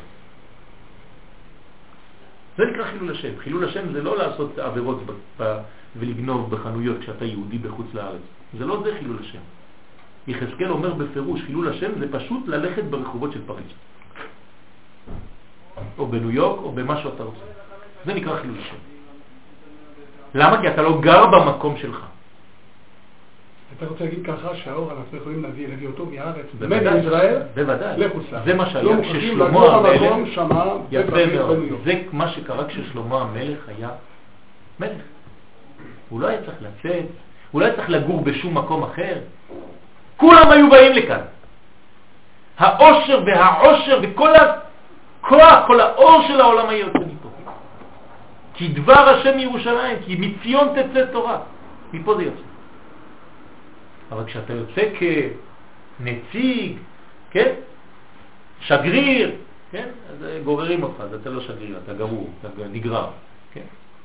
A: זה נקרא חילול השם. חילול השם זה לא לעשות עבירות ולגנוב בחנויות כשאתה יהודי בחוץ לארץ. זה לא זה חילול השם. יחזקאל אומר בפירוש, חילול השם זה פשוט ללכת ברחובות של פריז. או בניו יורק או במה שאתה רוצה. זה נקרא חילול השם. למה? כי אתה לא גר במקום שלך.
C: אתה רוצה להגיד ככה שהאור אנחנו יכולים להביא אותו מארץ,
A: בוודאי,
C: מישראל,
A: בוודאי.
C: לחוץ לארץ.
A: זה מה שהיה כששלמה המלך, יפה מאוד, זה מה שקרה כששלמה המלך היה מלך. הוא לא היה צריך לצאת, הוא לא היה צריך לגור בשום מקום אחר. כולם היו באים לכאן. העושר והעושר וכל הכוח, כל האור של העולם היה יוצא מפה. כי דבר השם מירושלים, כי מציון תצא תורה. מפה זה יוצא. אבל כשאתה יוצא כנציג, כן? שגריר, כן? אז גוררים אותך, אז אתה לא שגריר, אתה גרור, אתה נגרר, כן?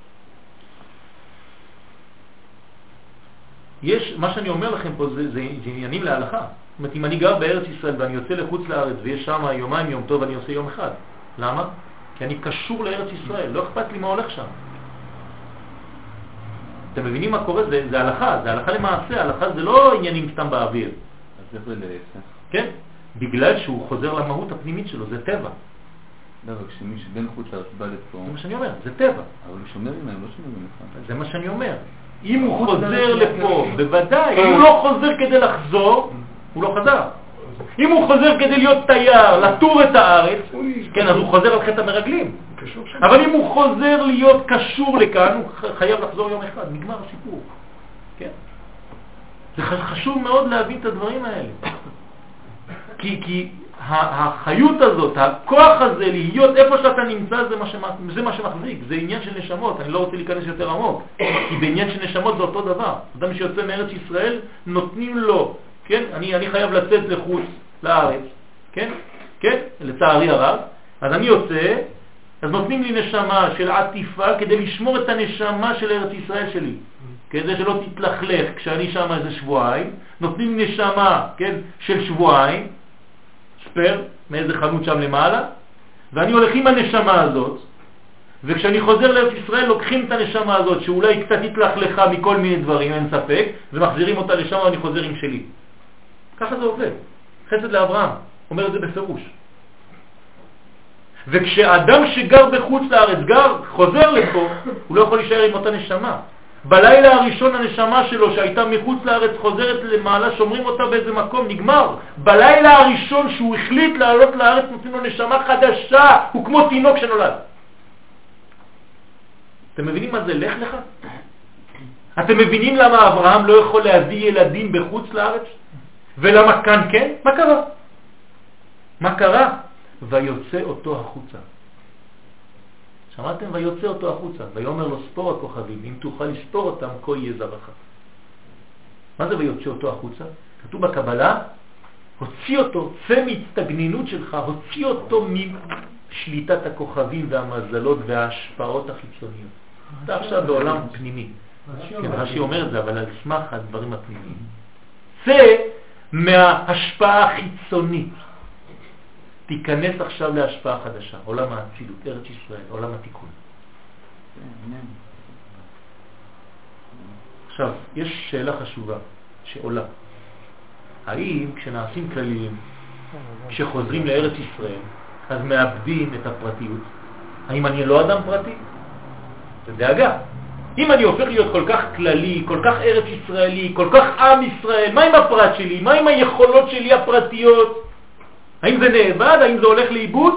A: יש, מה שאני אומר לכם פה זה עניינים להלכה. זאת אומרת, אם אני גר בארץ ישראל ואני יוצא לחוץ לארץ ויש שם יומיים יום טוב, אני עושה יום אחד. למה? כי אני קשור לארץ ישראל, לא אכפת לי מה הולך שם. אתם מבינים מה קורה? זה הלכה, זה הלכה למעשה, הלכה זה לא עניינים סתם באוויר.
E: אז זה להפך.
A: כן? בגלל שהוא חוזר למהות הפנימית שלו, זה טבע.
E: לא, אבל כשמי שבין חוץ לארץ בא לפה...
A: זה מה שאני אומר, זה טבע.
E: אבל הוא שומר מהם, לא שומר מהם.
A: זה מה שאני אומר. אם הוא חוזר לפה, בוודאי, אם הוא לא חוזר כדי לחזור, הוא לא חזר. אם הוא חוזר כדי להיות תייר, לטור את הארץ, כן, אז הוא חוזר על חטא המרגלים. אבל אם הוא חוזר להיות קשור לכאן, הוא חייב לחזור יום אחד, נגמר הסיפור. כן? זה חשוב מאוד להבין את הדברים האלה. כי החיות הזאת, הכוח הזה להיות איפה שאתה נמצא, זה מה שמחזיק, זה עניין של נשמות. אני לא רוצה להיכנס יותר עמוק, כי בעניין של נשמות זה אותו דבר. אדם שיוצא מארץ ישראל נותנים לו, כן? אני חייב לצאת לחוץ לארץ, כן? כן? לצערי הרב. אז אני יוצא, אז נותנים לי נשמה של עטיפה כדי לשמור את הנשמה של ארץ ישראל שלי, כדי שלא תתלכלך כשאני שם איזה שבועיים. נותנים לי נשמה, כן, של שבועיים, ספר, מאיזה חנות שם למעלה, ואני הולך עם הנשמה הזאת, וכשאני חוזר לארץ ישראל לוקחים את הנשמה הזאת שאולי קצת התלכלכה מכל מיני דברים, אין ספק, ומחזירים אותה לשם ואני חוזר עם שלי. ככה זה עובד. חסד לאברהם, אומר את זה בפירוש. וכשאדם שגר בחוץ לארץ חוזר לפה, הוא לא יכול להישאר עם אותה נשמה. בלילה הראשון הנשמה שלו שהייתה מחוץ לארץ חוזרת למעלה, שומרים אותה באיזה מקום, נגמר. בלילה הראשון שהוא החליט לעלות לארץ נותנים לו נשמה חדשה, הוא כמו תינוק שנולד. אתם מבינים מה זה לך לך? אתם מבינים למה אברהם לא יכול להביא ילדים בחוץ לארץ? ולמה כאן כן? מה קרה? מה קרה? ויוצא אותו החוצה. שמעתם? ויוצא אותו החוצה. ויאמר לו ספור הכוכבים, אם תוכל לספור אותם, כה יהיה זרעך. מה זה ויוצא אותו החוצה? כתוב בקבלה, הוציא אותו, צא מהצטגנינות שלך, הוציא אותו משליטת הכוכבים והמזלות וההשפעות החיצוניות. אתה עכשיו בעולם פנימי. כן, רש"י אומר את זה, אבל על סמך הדברים הפנימיים. צא מההשפעה החיצונית. תיכנס עכשיו להשפעה חדשה, עולם האצילות, ארץ ישראל, עולם התיקון. עכשיו, יש שאלה חשובה שעולה. האם כשנעשים כלליים, כשחוזרים לארץ ישראל, אז מאבדים את הפרטיות? האם אני לא אדם פרטי? זה דאגה. אם אני הופך להיות כל כך כללי, כל כך ארץ ישראלי, כל כך עם ישראל, מה עם הפרט שלי? מה עם היכולות שלי הפרטיות? האם זה נאבד? האם זה הולך לאיבוד?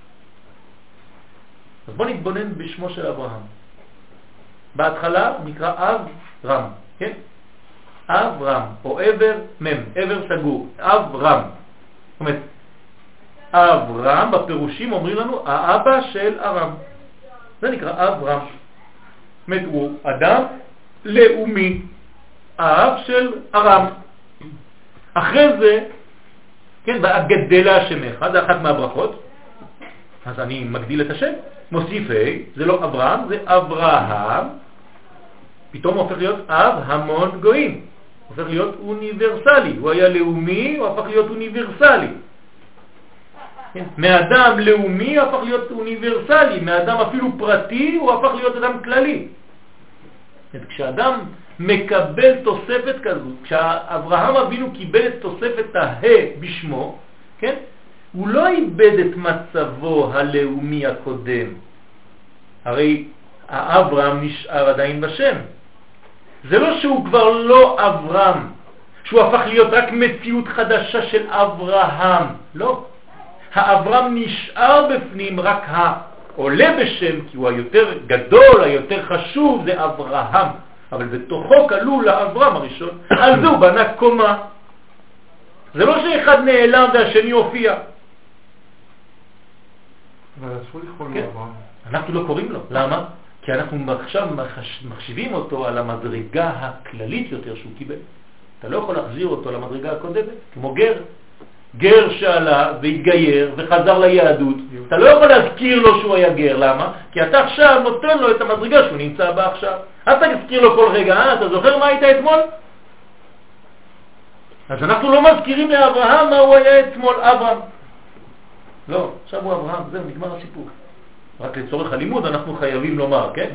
A: אז בוא נתבונן בשמו של אברהם. בהתחלה נקרא אב רם, כן? אב רם, או עבר מם, עבר סגור, אב רם. זאת אומרת, אב רם בפירושים אומרים לנו האבא של ארם. זה נקרא אב רם. זאת אומרת, הוא אדם לאומי, האב של ארם. אחרי זה, כן, ואגדלה שמך, זה אחת מהברכות. אז אני מגדיל את השם, מוסיף זה לא אברהם, זה אברהם. פתאום הוא הופך להיות אב המון גויים. הוא הופך להיות אוניברסלי. הוא היה לאומי, הוא הפך להיות אוניברסלי. כן? מאדם לאומי הוא הפך להיות אוניברסלי. מאדם אפילו פרטי הוא הפך להיות אדם כללי. כשאדם מקבל תוספת כזו, כשאברהם אבינו קיבל את תוספת בשמו, כן? הוא לא איבד את מצבו הלאומי הקודם. הרי האברהם נשאר עדיין בשם. זה לא שהוא כבר לא אברהם, שהוא הפך להיות רק מציאות חדשה של אברהם. לא. האברהם נשאר בפנים, רק העולה בשם, כי הוא היותר גדול, היותר חשוב, זה אברהם. אבל בתוכו כלול לאברהם הראשון. על זה הוא בנה קומה. זה לא שאחד נעלם והשני הופיע.
C: אבל אסור לקרוא לו אברהם.
A: אנחנו לא קוראים לו. למה? כי אנחנו עכשיו מחשיבים אותו על המדרגה הכללית יותר שהוא קיבל. אתה לא יכול להחזיר אותו למדרגה הקודמת, כמו גר. גר שעלה והתגייר וחזר ליהדות. אתה לא יכול להזכיר לו שהוא היה גר. למה? כי אתה עכשיו נותן לו את המדרגה שהוא נמצא בה עכשיו. אתה תזכיר לו כל רגע, אתה זוכר מה היית אתמול? אז אנחנו לא מזכירים לאברהם מה הוא היה אתמול, אברהם. לא, עכשיו הוא אברהם, זהו, נגמר הסיפור. רק לצורך הלימוד אנחנו חייבים לומר, כן?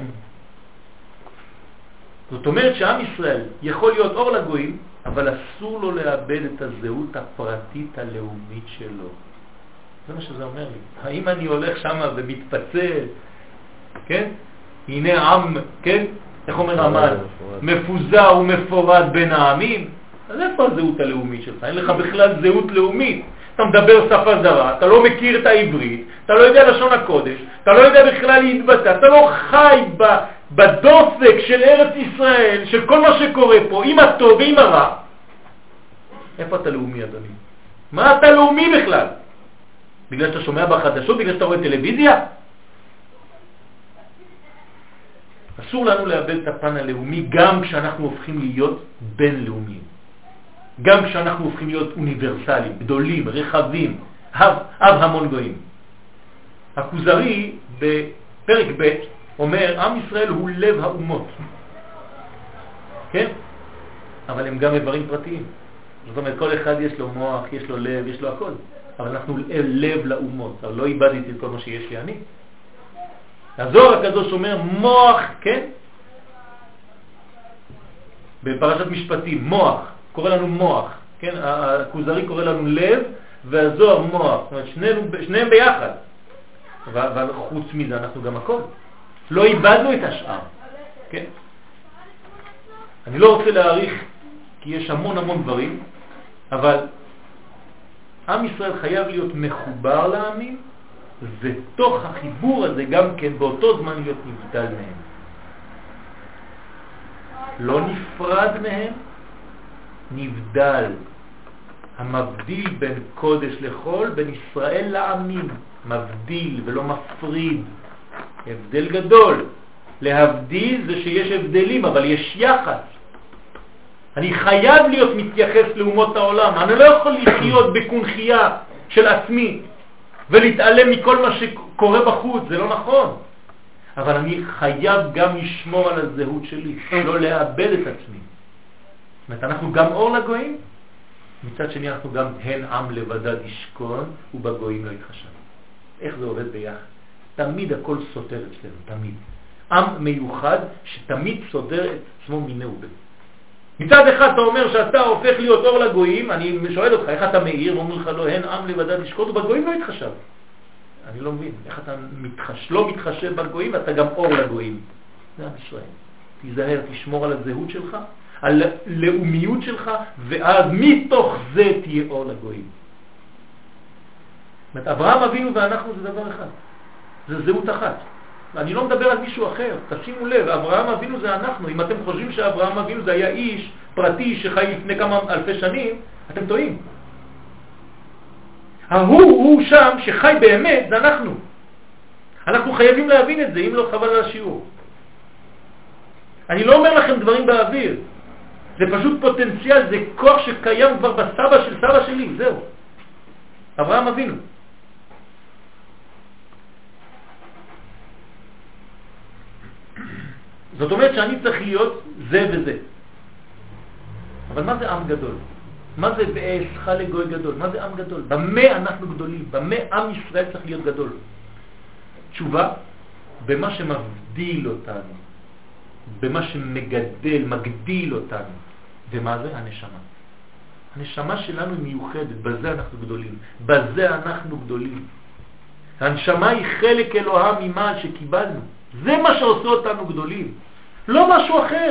A: זאת אומרת שעם ישראל יכול להיות אור לגויים, אבל אסור לו לאבד את הזהות הפרטית הלאומית שלו. זה מה שזה אומר לי. האם אני הולך שם ומתפצל, כן? הנה עם, כן? איך אומר עמד? מפוזר ומפורד בין העמים. אז איפה הזהות הלאומית שלך? אין לך בכלל זהות לאומית. אתה מדבר שפה זרה, אתה לא מכיר את העברית, אתה לא יודע לשון הקודש, אתה לא יודע בכלל להתבטא, אתה לא חי בדופק של ארץ ישראל, של כל מה שקורה פה, עם הטוב ועם הרע. איפה אתה לאומי, אדוני? מה אתה לאומי בכלל? בגלל שאתה שומע בחדשות, בגלל שאתה רואה טלוויזיה? אסור לנו לאבד את הפן הלאומי גם כשאנחנו הופכים להיות בינלאומיים. גם כשאנחנו הופכים להיות אוניברסליים, גדולים, רחבים, אב המון גויים. הכוזרי בפרק ב' אומר, עם ישראל הוא לב האומות. כן? אבל הם גם איברים פרטיים. זאת אומרת, כל אחד יש לו מוח, יש לו לב, יש לו הכל. אבל אנחנו לב לאומות. אבל לא איבדתי את כל מה שיש לי אני. הזוהר הקדוש אומר מוח, כן? בפרשת משפטים, מוח, קורא לנו מוח, כן? הכוזרי קורא לנו לב והזוהר מוח. זאת אומרת, שניהם ביחד. אבל חוץ מזה אנחנו גם הכל. לא איבדנו את השאר, כן? אני לא רוצה להעריך כי יש המון דברים, אבל עם ישראל חייב להיות מחובר לעמים, ותוך החיבור הזה גם כן באותו זמן להיות נבדל מהם. לא נפרד מהם, נבדל. המבדיל בין קודש לחול, בין ישראל לעמים. מבדיל ולא מפריד. הבדל גדול. להבדיל זה שיש הבדלים, אבל יש יחס. אני חייב להיות מתייחס לאומות העולם. אני לא יכול לחיות בקונחייה של עצמי ולהתעלם מכל מה שקורה בחוץ, זה לא נכון. אבל אני חייב גם לשמור על הזהות שלי, לא לאבד את עצמי. זאת אומרת, אנחנו גם אור לגויים, מצד שני אנחנו גם הן עם לבדד ישכון ובגויים לא יתחשב. איך זה עובד ביחד? תמיד הכל סותר אצלנו, תמיד. עם מיוחד שתמיד סותר את עצמו מיני ובין. מצד אחד אתה אומר שאתה הופך להיות אור לגויים, אני שואל אותך איך אתה מאיר, ואומר לך לא, הן עם לבדד ישכון ובגויים לא יתחשב. אני לא מבין, איך אתה לא מתחשב בגויים ואתה גם אור לגויים. זה עם ישראל. תיזהר, תשמור על הזהות שלך, על לאומיות שלך, ואז מתוך זה תהיה אור לגויים. זאת אומרת, אברהם אבינו ואנחנו זה דבר אחד. זה זהות אחת. אני לא מדבר על מישהו אחר, תשימו לב, אברהם אבינו זה אנחנו. אם אתם חושבים שאברהם אבינו זה היה איש פרטי שחי לפני כמה אלפי שנים, אתם טועים. הוא שם שחי באמת, זה אנחנו. אנחנו חייבים להבין את זה, אם לא חבל על השיעור. אני לא אומר לכם דברים באוויר. זה פשוט פוטנציאל, זה כוח שקיים כבר בסבא של סבא שלי, זהו. אברהם אבינו. זאת אומרת שאני צריך להיות זה וזה. אבל מה זה עם גדול? מה זה בעשך לגוי גדול? מה זה עם גדול? במה אנחנו גדולים? במה עם ישראל צריך להיות גדול? תשובה, במה שמבדיל אותנו, במה שמגדל, מגדיל אותנו. ומה זה? הנשמה. הנשמה שלנו היא מיוחדת, בזה אנחנו גדולים. בזה אנחנו גדולים. הנשמה היא חלק אלוהה ממעל שקיבלנו. זה מה שעושה אותנו גדולים. לא משהו אחר.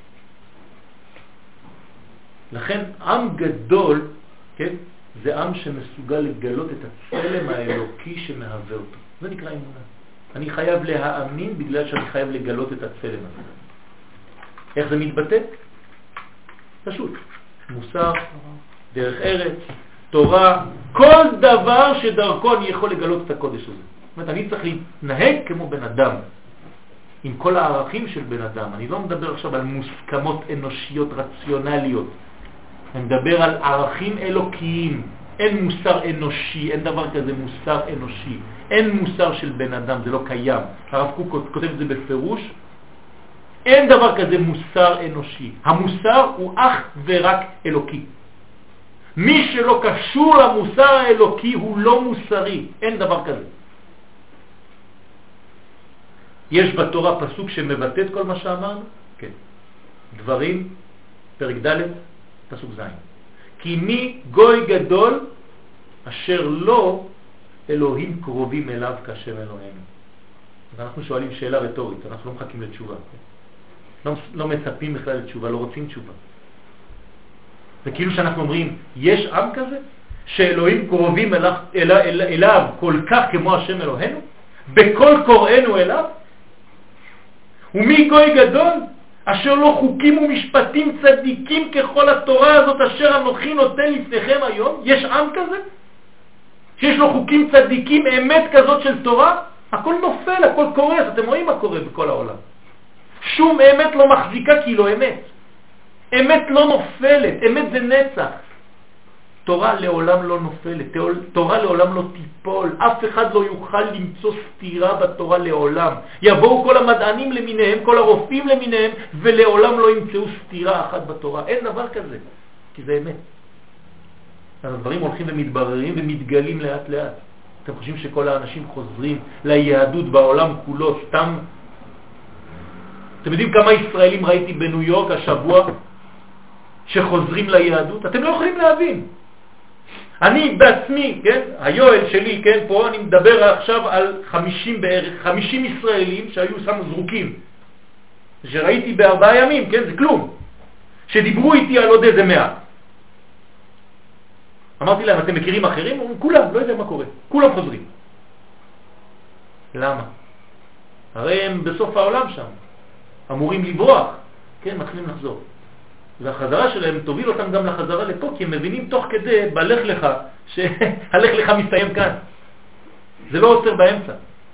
A: לכן עם גדול, כן, זה עם שמסוגל לגלות את הצלם האלוקי שמהווה אותו. זה נקרא אמונה. אני חייב להאמין בגלל שאני חייב לגלות את הצלם הזה. איך זה מתבטא? פשוט. מוסר, דרך ארץ, תורה, כל דבר שדרכו אני יכול לגלות את הקודש הזה. זאת אומרת, אני צריך להתנהג כמו בן אדם, עם כל הערכים של בן אדם. אני לא מדבר עכשיו על מוסכמות אנושיות רציונליות. אני מדבר על ערכים אלוקיים. אין מוסר אנושי, אין דבר כזה מוסר אנושי. אין מוסר של בן אדם, זה לא קיים. הרב קוק כותב את זה בפירוש. אין דבר כזה מוסר אנושי. המוסר הוא אך ורק אלוקי. מי שלא קשור למוסר האלוקי הוא לא מוסרי. אין דבר כזה. יש בתורה פסוק שמבטא את כל מה שאמרנו? כן. דברים, פרק ד', פסוק ז'. כי מי גוי גדול אשר לא אלוהים קרובים אליו כשם אלוהינו. אז אנחנו שואלים שאלה רטורית, אנחנו לא מחכים לתשובה. לא מצפים בכלל לתשובה, לא רוצים תשובה. זה כאילו שאנחנו אומרים, יש עם כזה שאלוהים קרובים אליו כל כך כמו השם אלוהינו? בכל קוראינו אליו? ומי גוי גדול אשר לא חוקים ומשפטים צדיקים ככל התורה הזאת אשר אנוכי נותן לפניכם היום? יש עם כזה שיש לו חוקים צדיקים, אמת כזאת של תורה, הכל נופל, הכל קורס. אתם רואים מה קורה בכל העולם. שום אמת לא מחזיקה כי לא אמת. אמת לא נופלת, אמת זה נצח. תורה לעולם לא נופלת, תורה לעולם לא תיפול, אף אחד לא יוכל למצוא סתירה בתורה לעולם. יבואו כל המדענים למיניהם, כל הרופאים למיניהם, ולעולם לא ימצאו סתירה אחת בתורה. אין דבר כזה, כי זה אמת. הדברים הולכים ומתבררים ומתגלים לאט לאט. אתם חושבים שכל האנשים חוזרים ליהדות בעולם כולו סתם? אתם יודעים כמה ישראלים ראיתי בניו יורק השבוע שחוזרים ליהדות? אתם לא יכולים להבין. אני בעצמי, כן, היואל שלי, כן, פה אני מדבר עכשיו על 50 בערך, 50 ישראלים שהיו שם זרוקים, שראיתי ב4 ימים, כן, זה כלום, שדיברו איתי על עוד איזה 100. אמרתי להם, אתם מכירים אחרים? כולם, לא יודע מה קורה, כולם חוזרים. למה? הרי הם בסוף העולם שם, אמורים לברוח, כן, מתחילים לחזור. והחזרה שלהם תוביל אותם גם לחזרה לפה, כי הם מבינים תוך כדי בלך לך, שהלך לך מסתיים כאן. זה לא עוצר באמצע.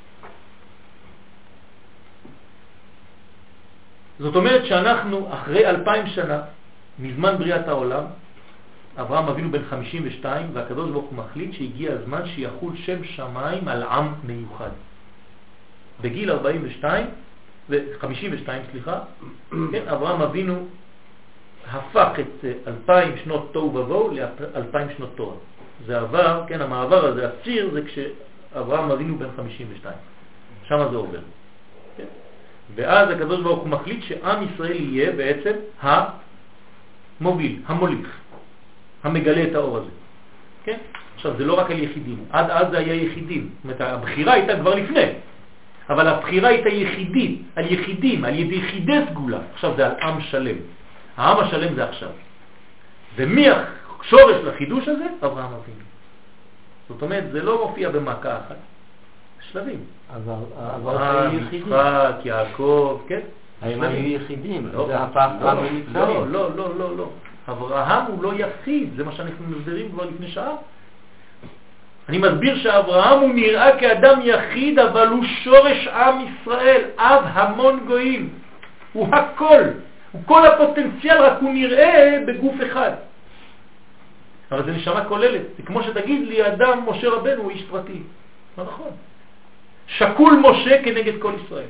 A: זאת אומרת שאנחנו אחרי 2000 שנה, מזמן בריאת העולם, אברהם אבינו בן 52, והקדוש ברוך הוא מחליט שהגיע הזמן שיחול שם שמיים על עם מיוחד. בגיל 42, ו-52 סליחה, כן, אברהם אבינו הפך את 2000 שנות תוהו ובוהו ל-2000 שנות תורה. זה עבר, כן, המעבר הזה, הציר, זה כשאברהם אבינו בן 52. שם זה עובר. כן? ואז הקדוש ברוך הוא מחליט שעם ישראל יהיה בעצם המוביל, המוליך, המגלה את האור הזה. כן? עכשיו, זה לא רק על יחידים. עד אז זה היה יחידים. זאת אומרת, הבחירה הייתה כבר לפני. אבל הבחירה הייתה יחידית, על יחידים, על ידי יחידי סגולה. עכשיו זה על עם שלם. העם השלם זה עכשיו. ומי השורש לחידוש הזה? אברהם אבינו. זאת אומרת, זה לא מופיע במכה אחת. שלבים. אברהם, יצחק, יעקב, כן?
B: האם היו יחידים?
A: לא,
B: זה הפך עם מצרים.
A: לא. אברהם הוא לא יחיד, זה מה שאנחנו מסבירים כבר לפני שעה. אני מסביר שאברהם הוא נראה כאדם יחיד, אבל הוא שורש עם ישראל, אב המון גויים. הוא הכל. הוא כל הפוטנציאל, רק הוא נראה בגוף אחד. אבל זה נשמה כוללת. זה כמו שתגיד לי, אדם משה רבנו הוא איש פרטי. לא נכון. שקול משה כנגד כל ישראל.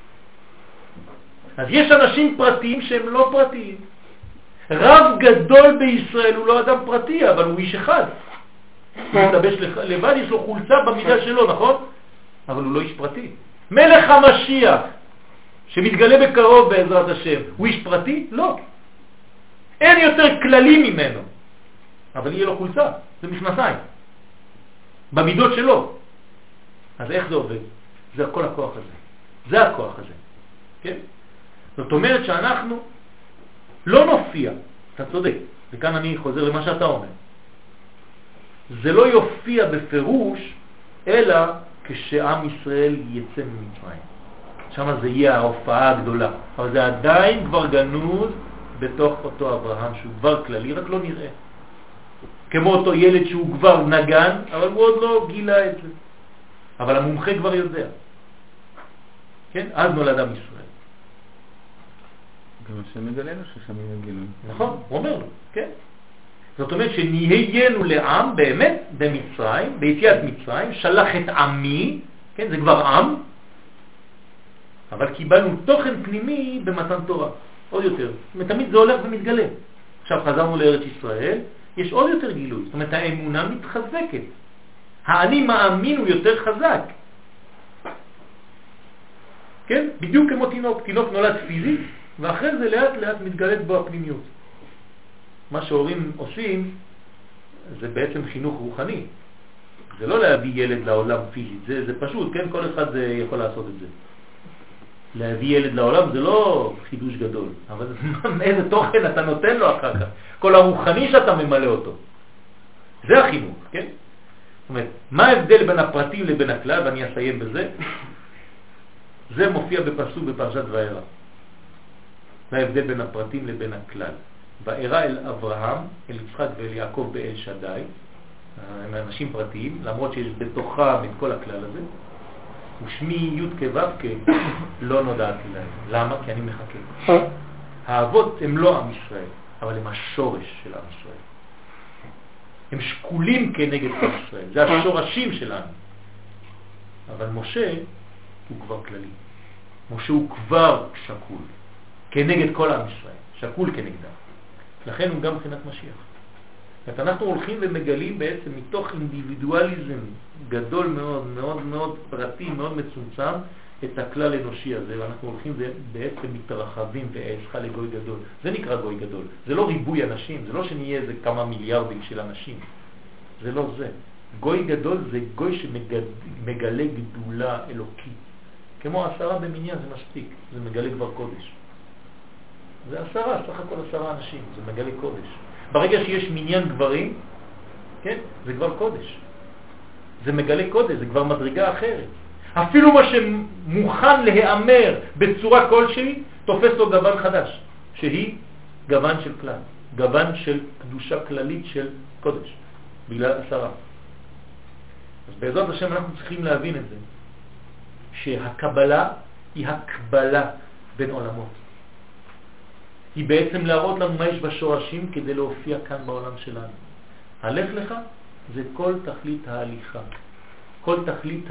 A: אז יש אנשים פרטיים שהם לא פרטיים. רב גדול בישראל הוא לא אדם פרטי, אבל הוא איש אחד. הוא מתלבש לבד, יש לו חולצה במידה שלו, נכון? אבל הוא לא איש פרטי. מלך המשיח, שמתגלה בקרוב בעזרת השם, הוא איש פרטי? לא. אין יותר כללי ממנו. אבל יהיה לו חולצה, זה מכנסיים. במידות שלו. אז איך זה עובד? זה כל הכוח הזה. זה הכוח הזה. כן? זאת אומרת שאנחנו לא נופיע. אתה צודק. וכאן אני חוזר למה שאתה אומר. זה לא יופיע בפירוש, אלא כשעם ישראל יצא ממצרים. שם זה יהיה ההופעה הגדולה. אבל זה עדיין כבר גנוז בתוך אותו אברהם, שהוא כבר כללי, רק לא נראה. כמו אותו ילד שהוא כבר נגן, אבל הוא עוד לא גילה את זה. אבל המומחה כבר יודע. כן? אז נולד עם ישראל.
E: גם השם מגלה לו ששם יהיה גילוי.
A: נכון, הוא אומר לו, כן. זאת אומרת שנהיינו לעם באמת במצרים, ביציאת מצרים, שלח את עמי, כן, זה כבר עם, אבל קיבלנו תוכן פנימי במתן תורה, עוד יותר. תמיד זה הולך ומתגלה. עכשיו חזרנו לארץ ישראל, יש עוד יותר גילוי, זאת אומרת האמונה מתחזקת. האני מאמין הוא יותר חזק. כן? בדיוק כמו תינוק. תינוק נולד פיזית, ואחרי זה לאט לאט מתגלית בו הפנימיות. מה שהורים עושים זה בעצם חינוך רוחני. זה לא להביא ילד לעולם פיזית, זה פשוט, כן? כל אחד יכול לעשות את זה. להביא ילד לעולם זה לא חידוש גדול, אבל איזה תוכן אתה נותן לו אחר כך. כל הרוחני שאתה ממלא אותו. זה החינוך, כן? זאת אומרת, מה ההבדל בין הפרטים לבין הכלל, ואני אסיים בזה? זה מופיע בפסוק בפרשת וארא. זה ההבדל בין הפרטים לבין הכלל. וארא אל אברהם, אל יצחק ואל יעקב באל שדי, הם אנשים פרטיים, למרות שיש בתוכם את כל הכלל הזה, ושמי י' כו' לא נודעתי להם. למה? כי אני מחכה. האבות הם לא עם ישראל, אבל הם השורש של עם ישראל. הם שקולים כנגד עם ישראל, זה השורשים שלנו. אבל משה הוא כבר כללי. משה הוא כבר שקול כנגד כל עם ישראל, שקול כנגדם. לכן הוא גם מבחינת משיח. אנחנו הולכים ומגלים בעצם מתוך אינדיבידואליזם גדול מאוד, מאוד מאוד פרטי, מאוד מצומצם, את הכלל האנושי הזה, ואנחנו הולכים ובעצם מתרחבים ועשך לגוי גדול. זה נקרא גוי גדול. זה לא ריבוי אנשים, זה לא שנהיה איזה כמה מיליארדים של אנשים. זה לא זה. גוי גדול זה גוי שמגלה גדולה אלוקית. כמו 10 במניין זה מספיק, זה מגלה כבר קודש. זה 10, סך הכל 10 אנשים, זה מגלה קודש. ברגע שיש מניין גברים, כן, זה כבר קודש. זה מגלה קודש, זה כבר מדרגה אחרת. אפילו מה שמוכן להיאמר בצורה כלשהי, תופס לו גוון חדש, שהיא גוון של כלל, גוון של קדושה כללית של קודש, בגלל 10. אז בעזרת השם אנחנו צריכים להבין את זה, שהקבלה היא הקבלה בין עולמות. היא בעצם להראות לנו מה יש בשורשים כדי להופיע כאן בעולם שלנו. הלך לך זה כל תכלית ההליכה, כל תכלית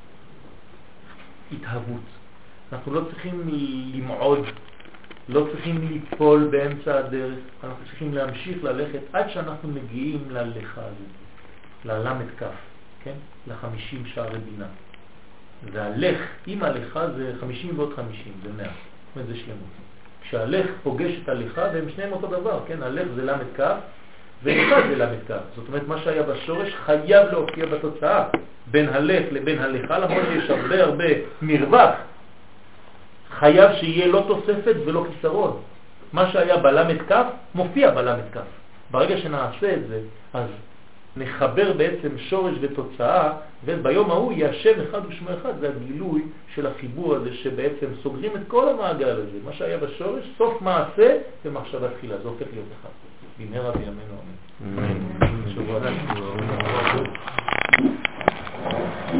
A: ההתהוות. אנחנו לא צריכים למעוד, לא צריכים ליפול באמצע הדרך, אנחנו צריכים להמשיך ללכת עד שאנחנו מגיעים ללכה הזאת, ללמד כף, כן? ל50 שערי בינה. והלך עם הלכה זה 50 ועוד 50, זה 100, זאת אומרת זה שלמות. כשהלך פוגש את הלכה והם שניהם אותו דבר, כן? הלך זה למד כף ולכה זה למד כף. זאת אומרת מה שהיה בשורש חייב להופיע בתוצאה בין הלך לבין הלכה, למרות שיש הרבה מרווח. חייב שיהיה לא תוספת ולא כיסרון. מה שהיה בלמד כף מופיע בלמד כף. ברגע שנעשה את זה, אז נחבר בעצם שורש ותוצאה, וביום ההוא יהיה השם אחד ושמו אחד. זה הגילוי של החיבור הזה שבעצם סוגרים את כל המעגל הזה. מה שהיה בשורש, סוף מעשה ומחשבה תחילה. זה הופך להיות אחד. במהרה בימינו אמן. שבוע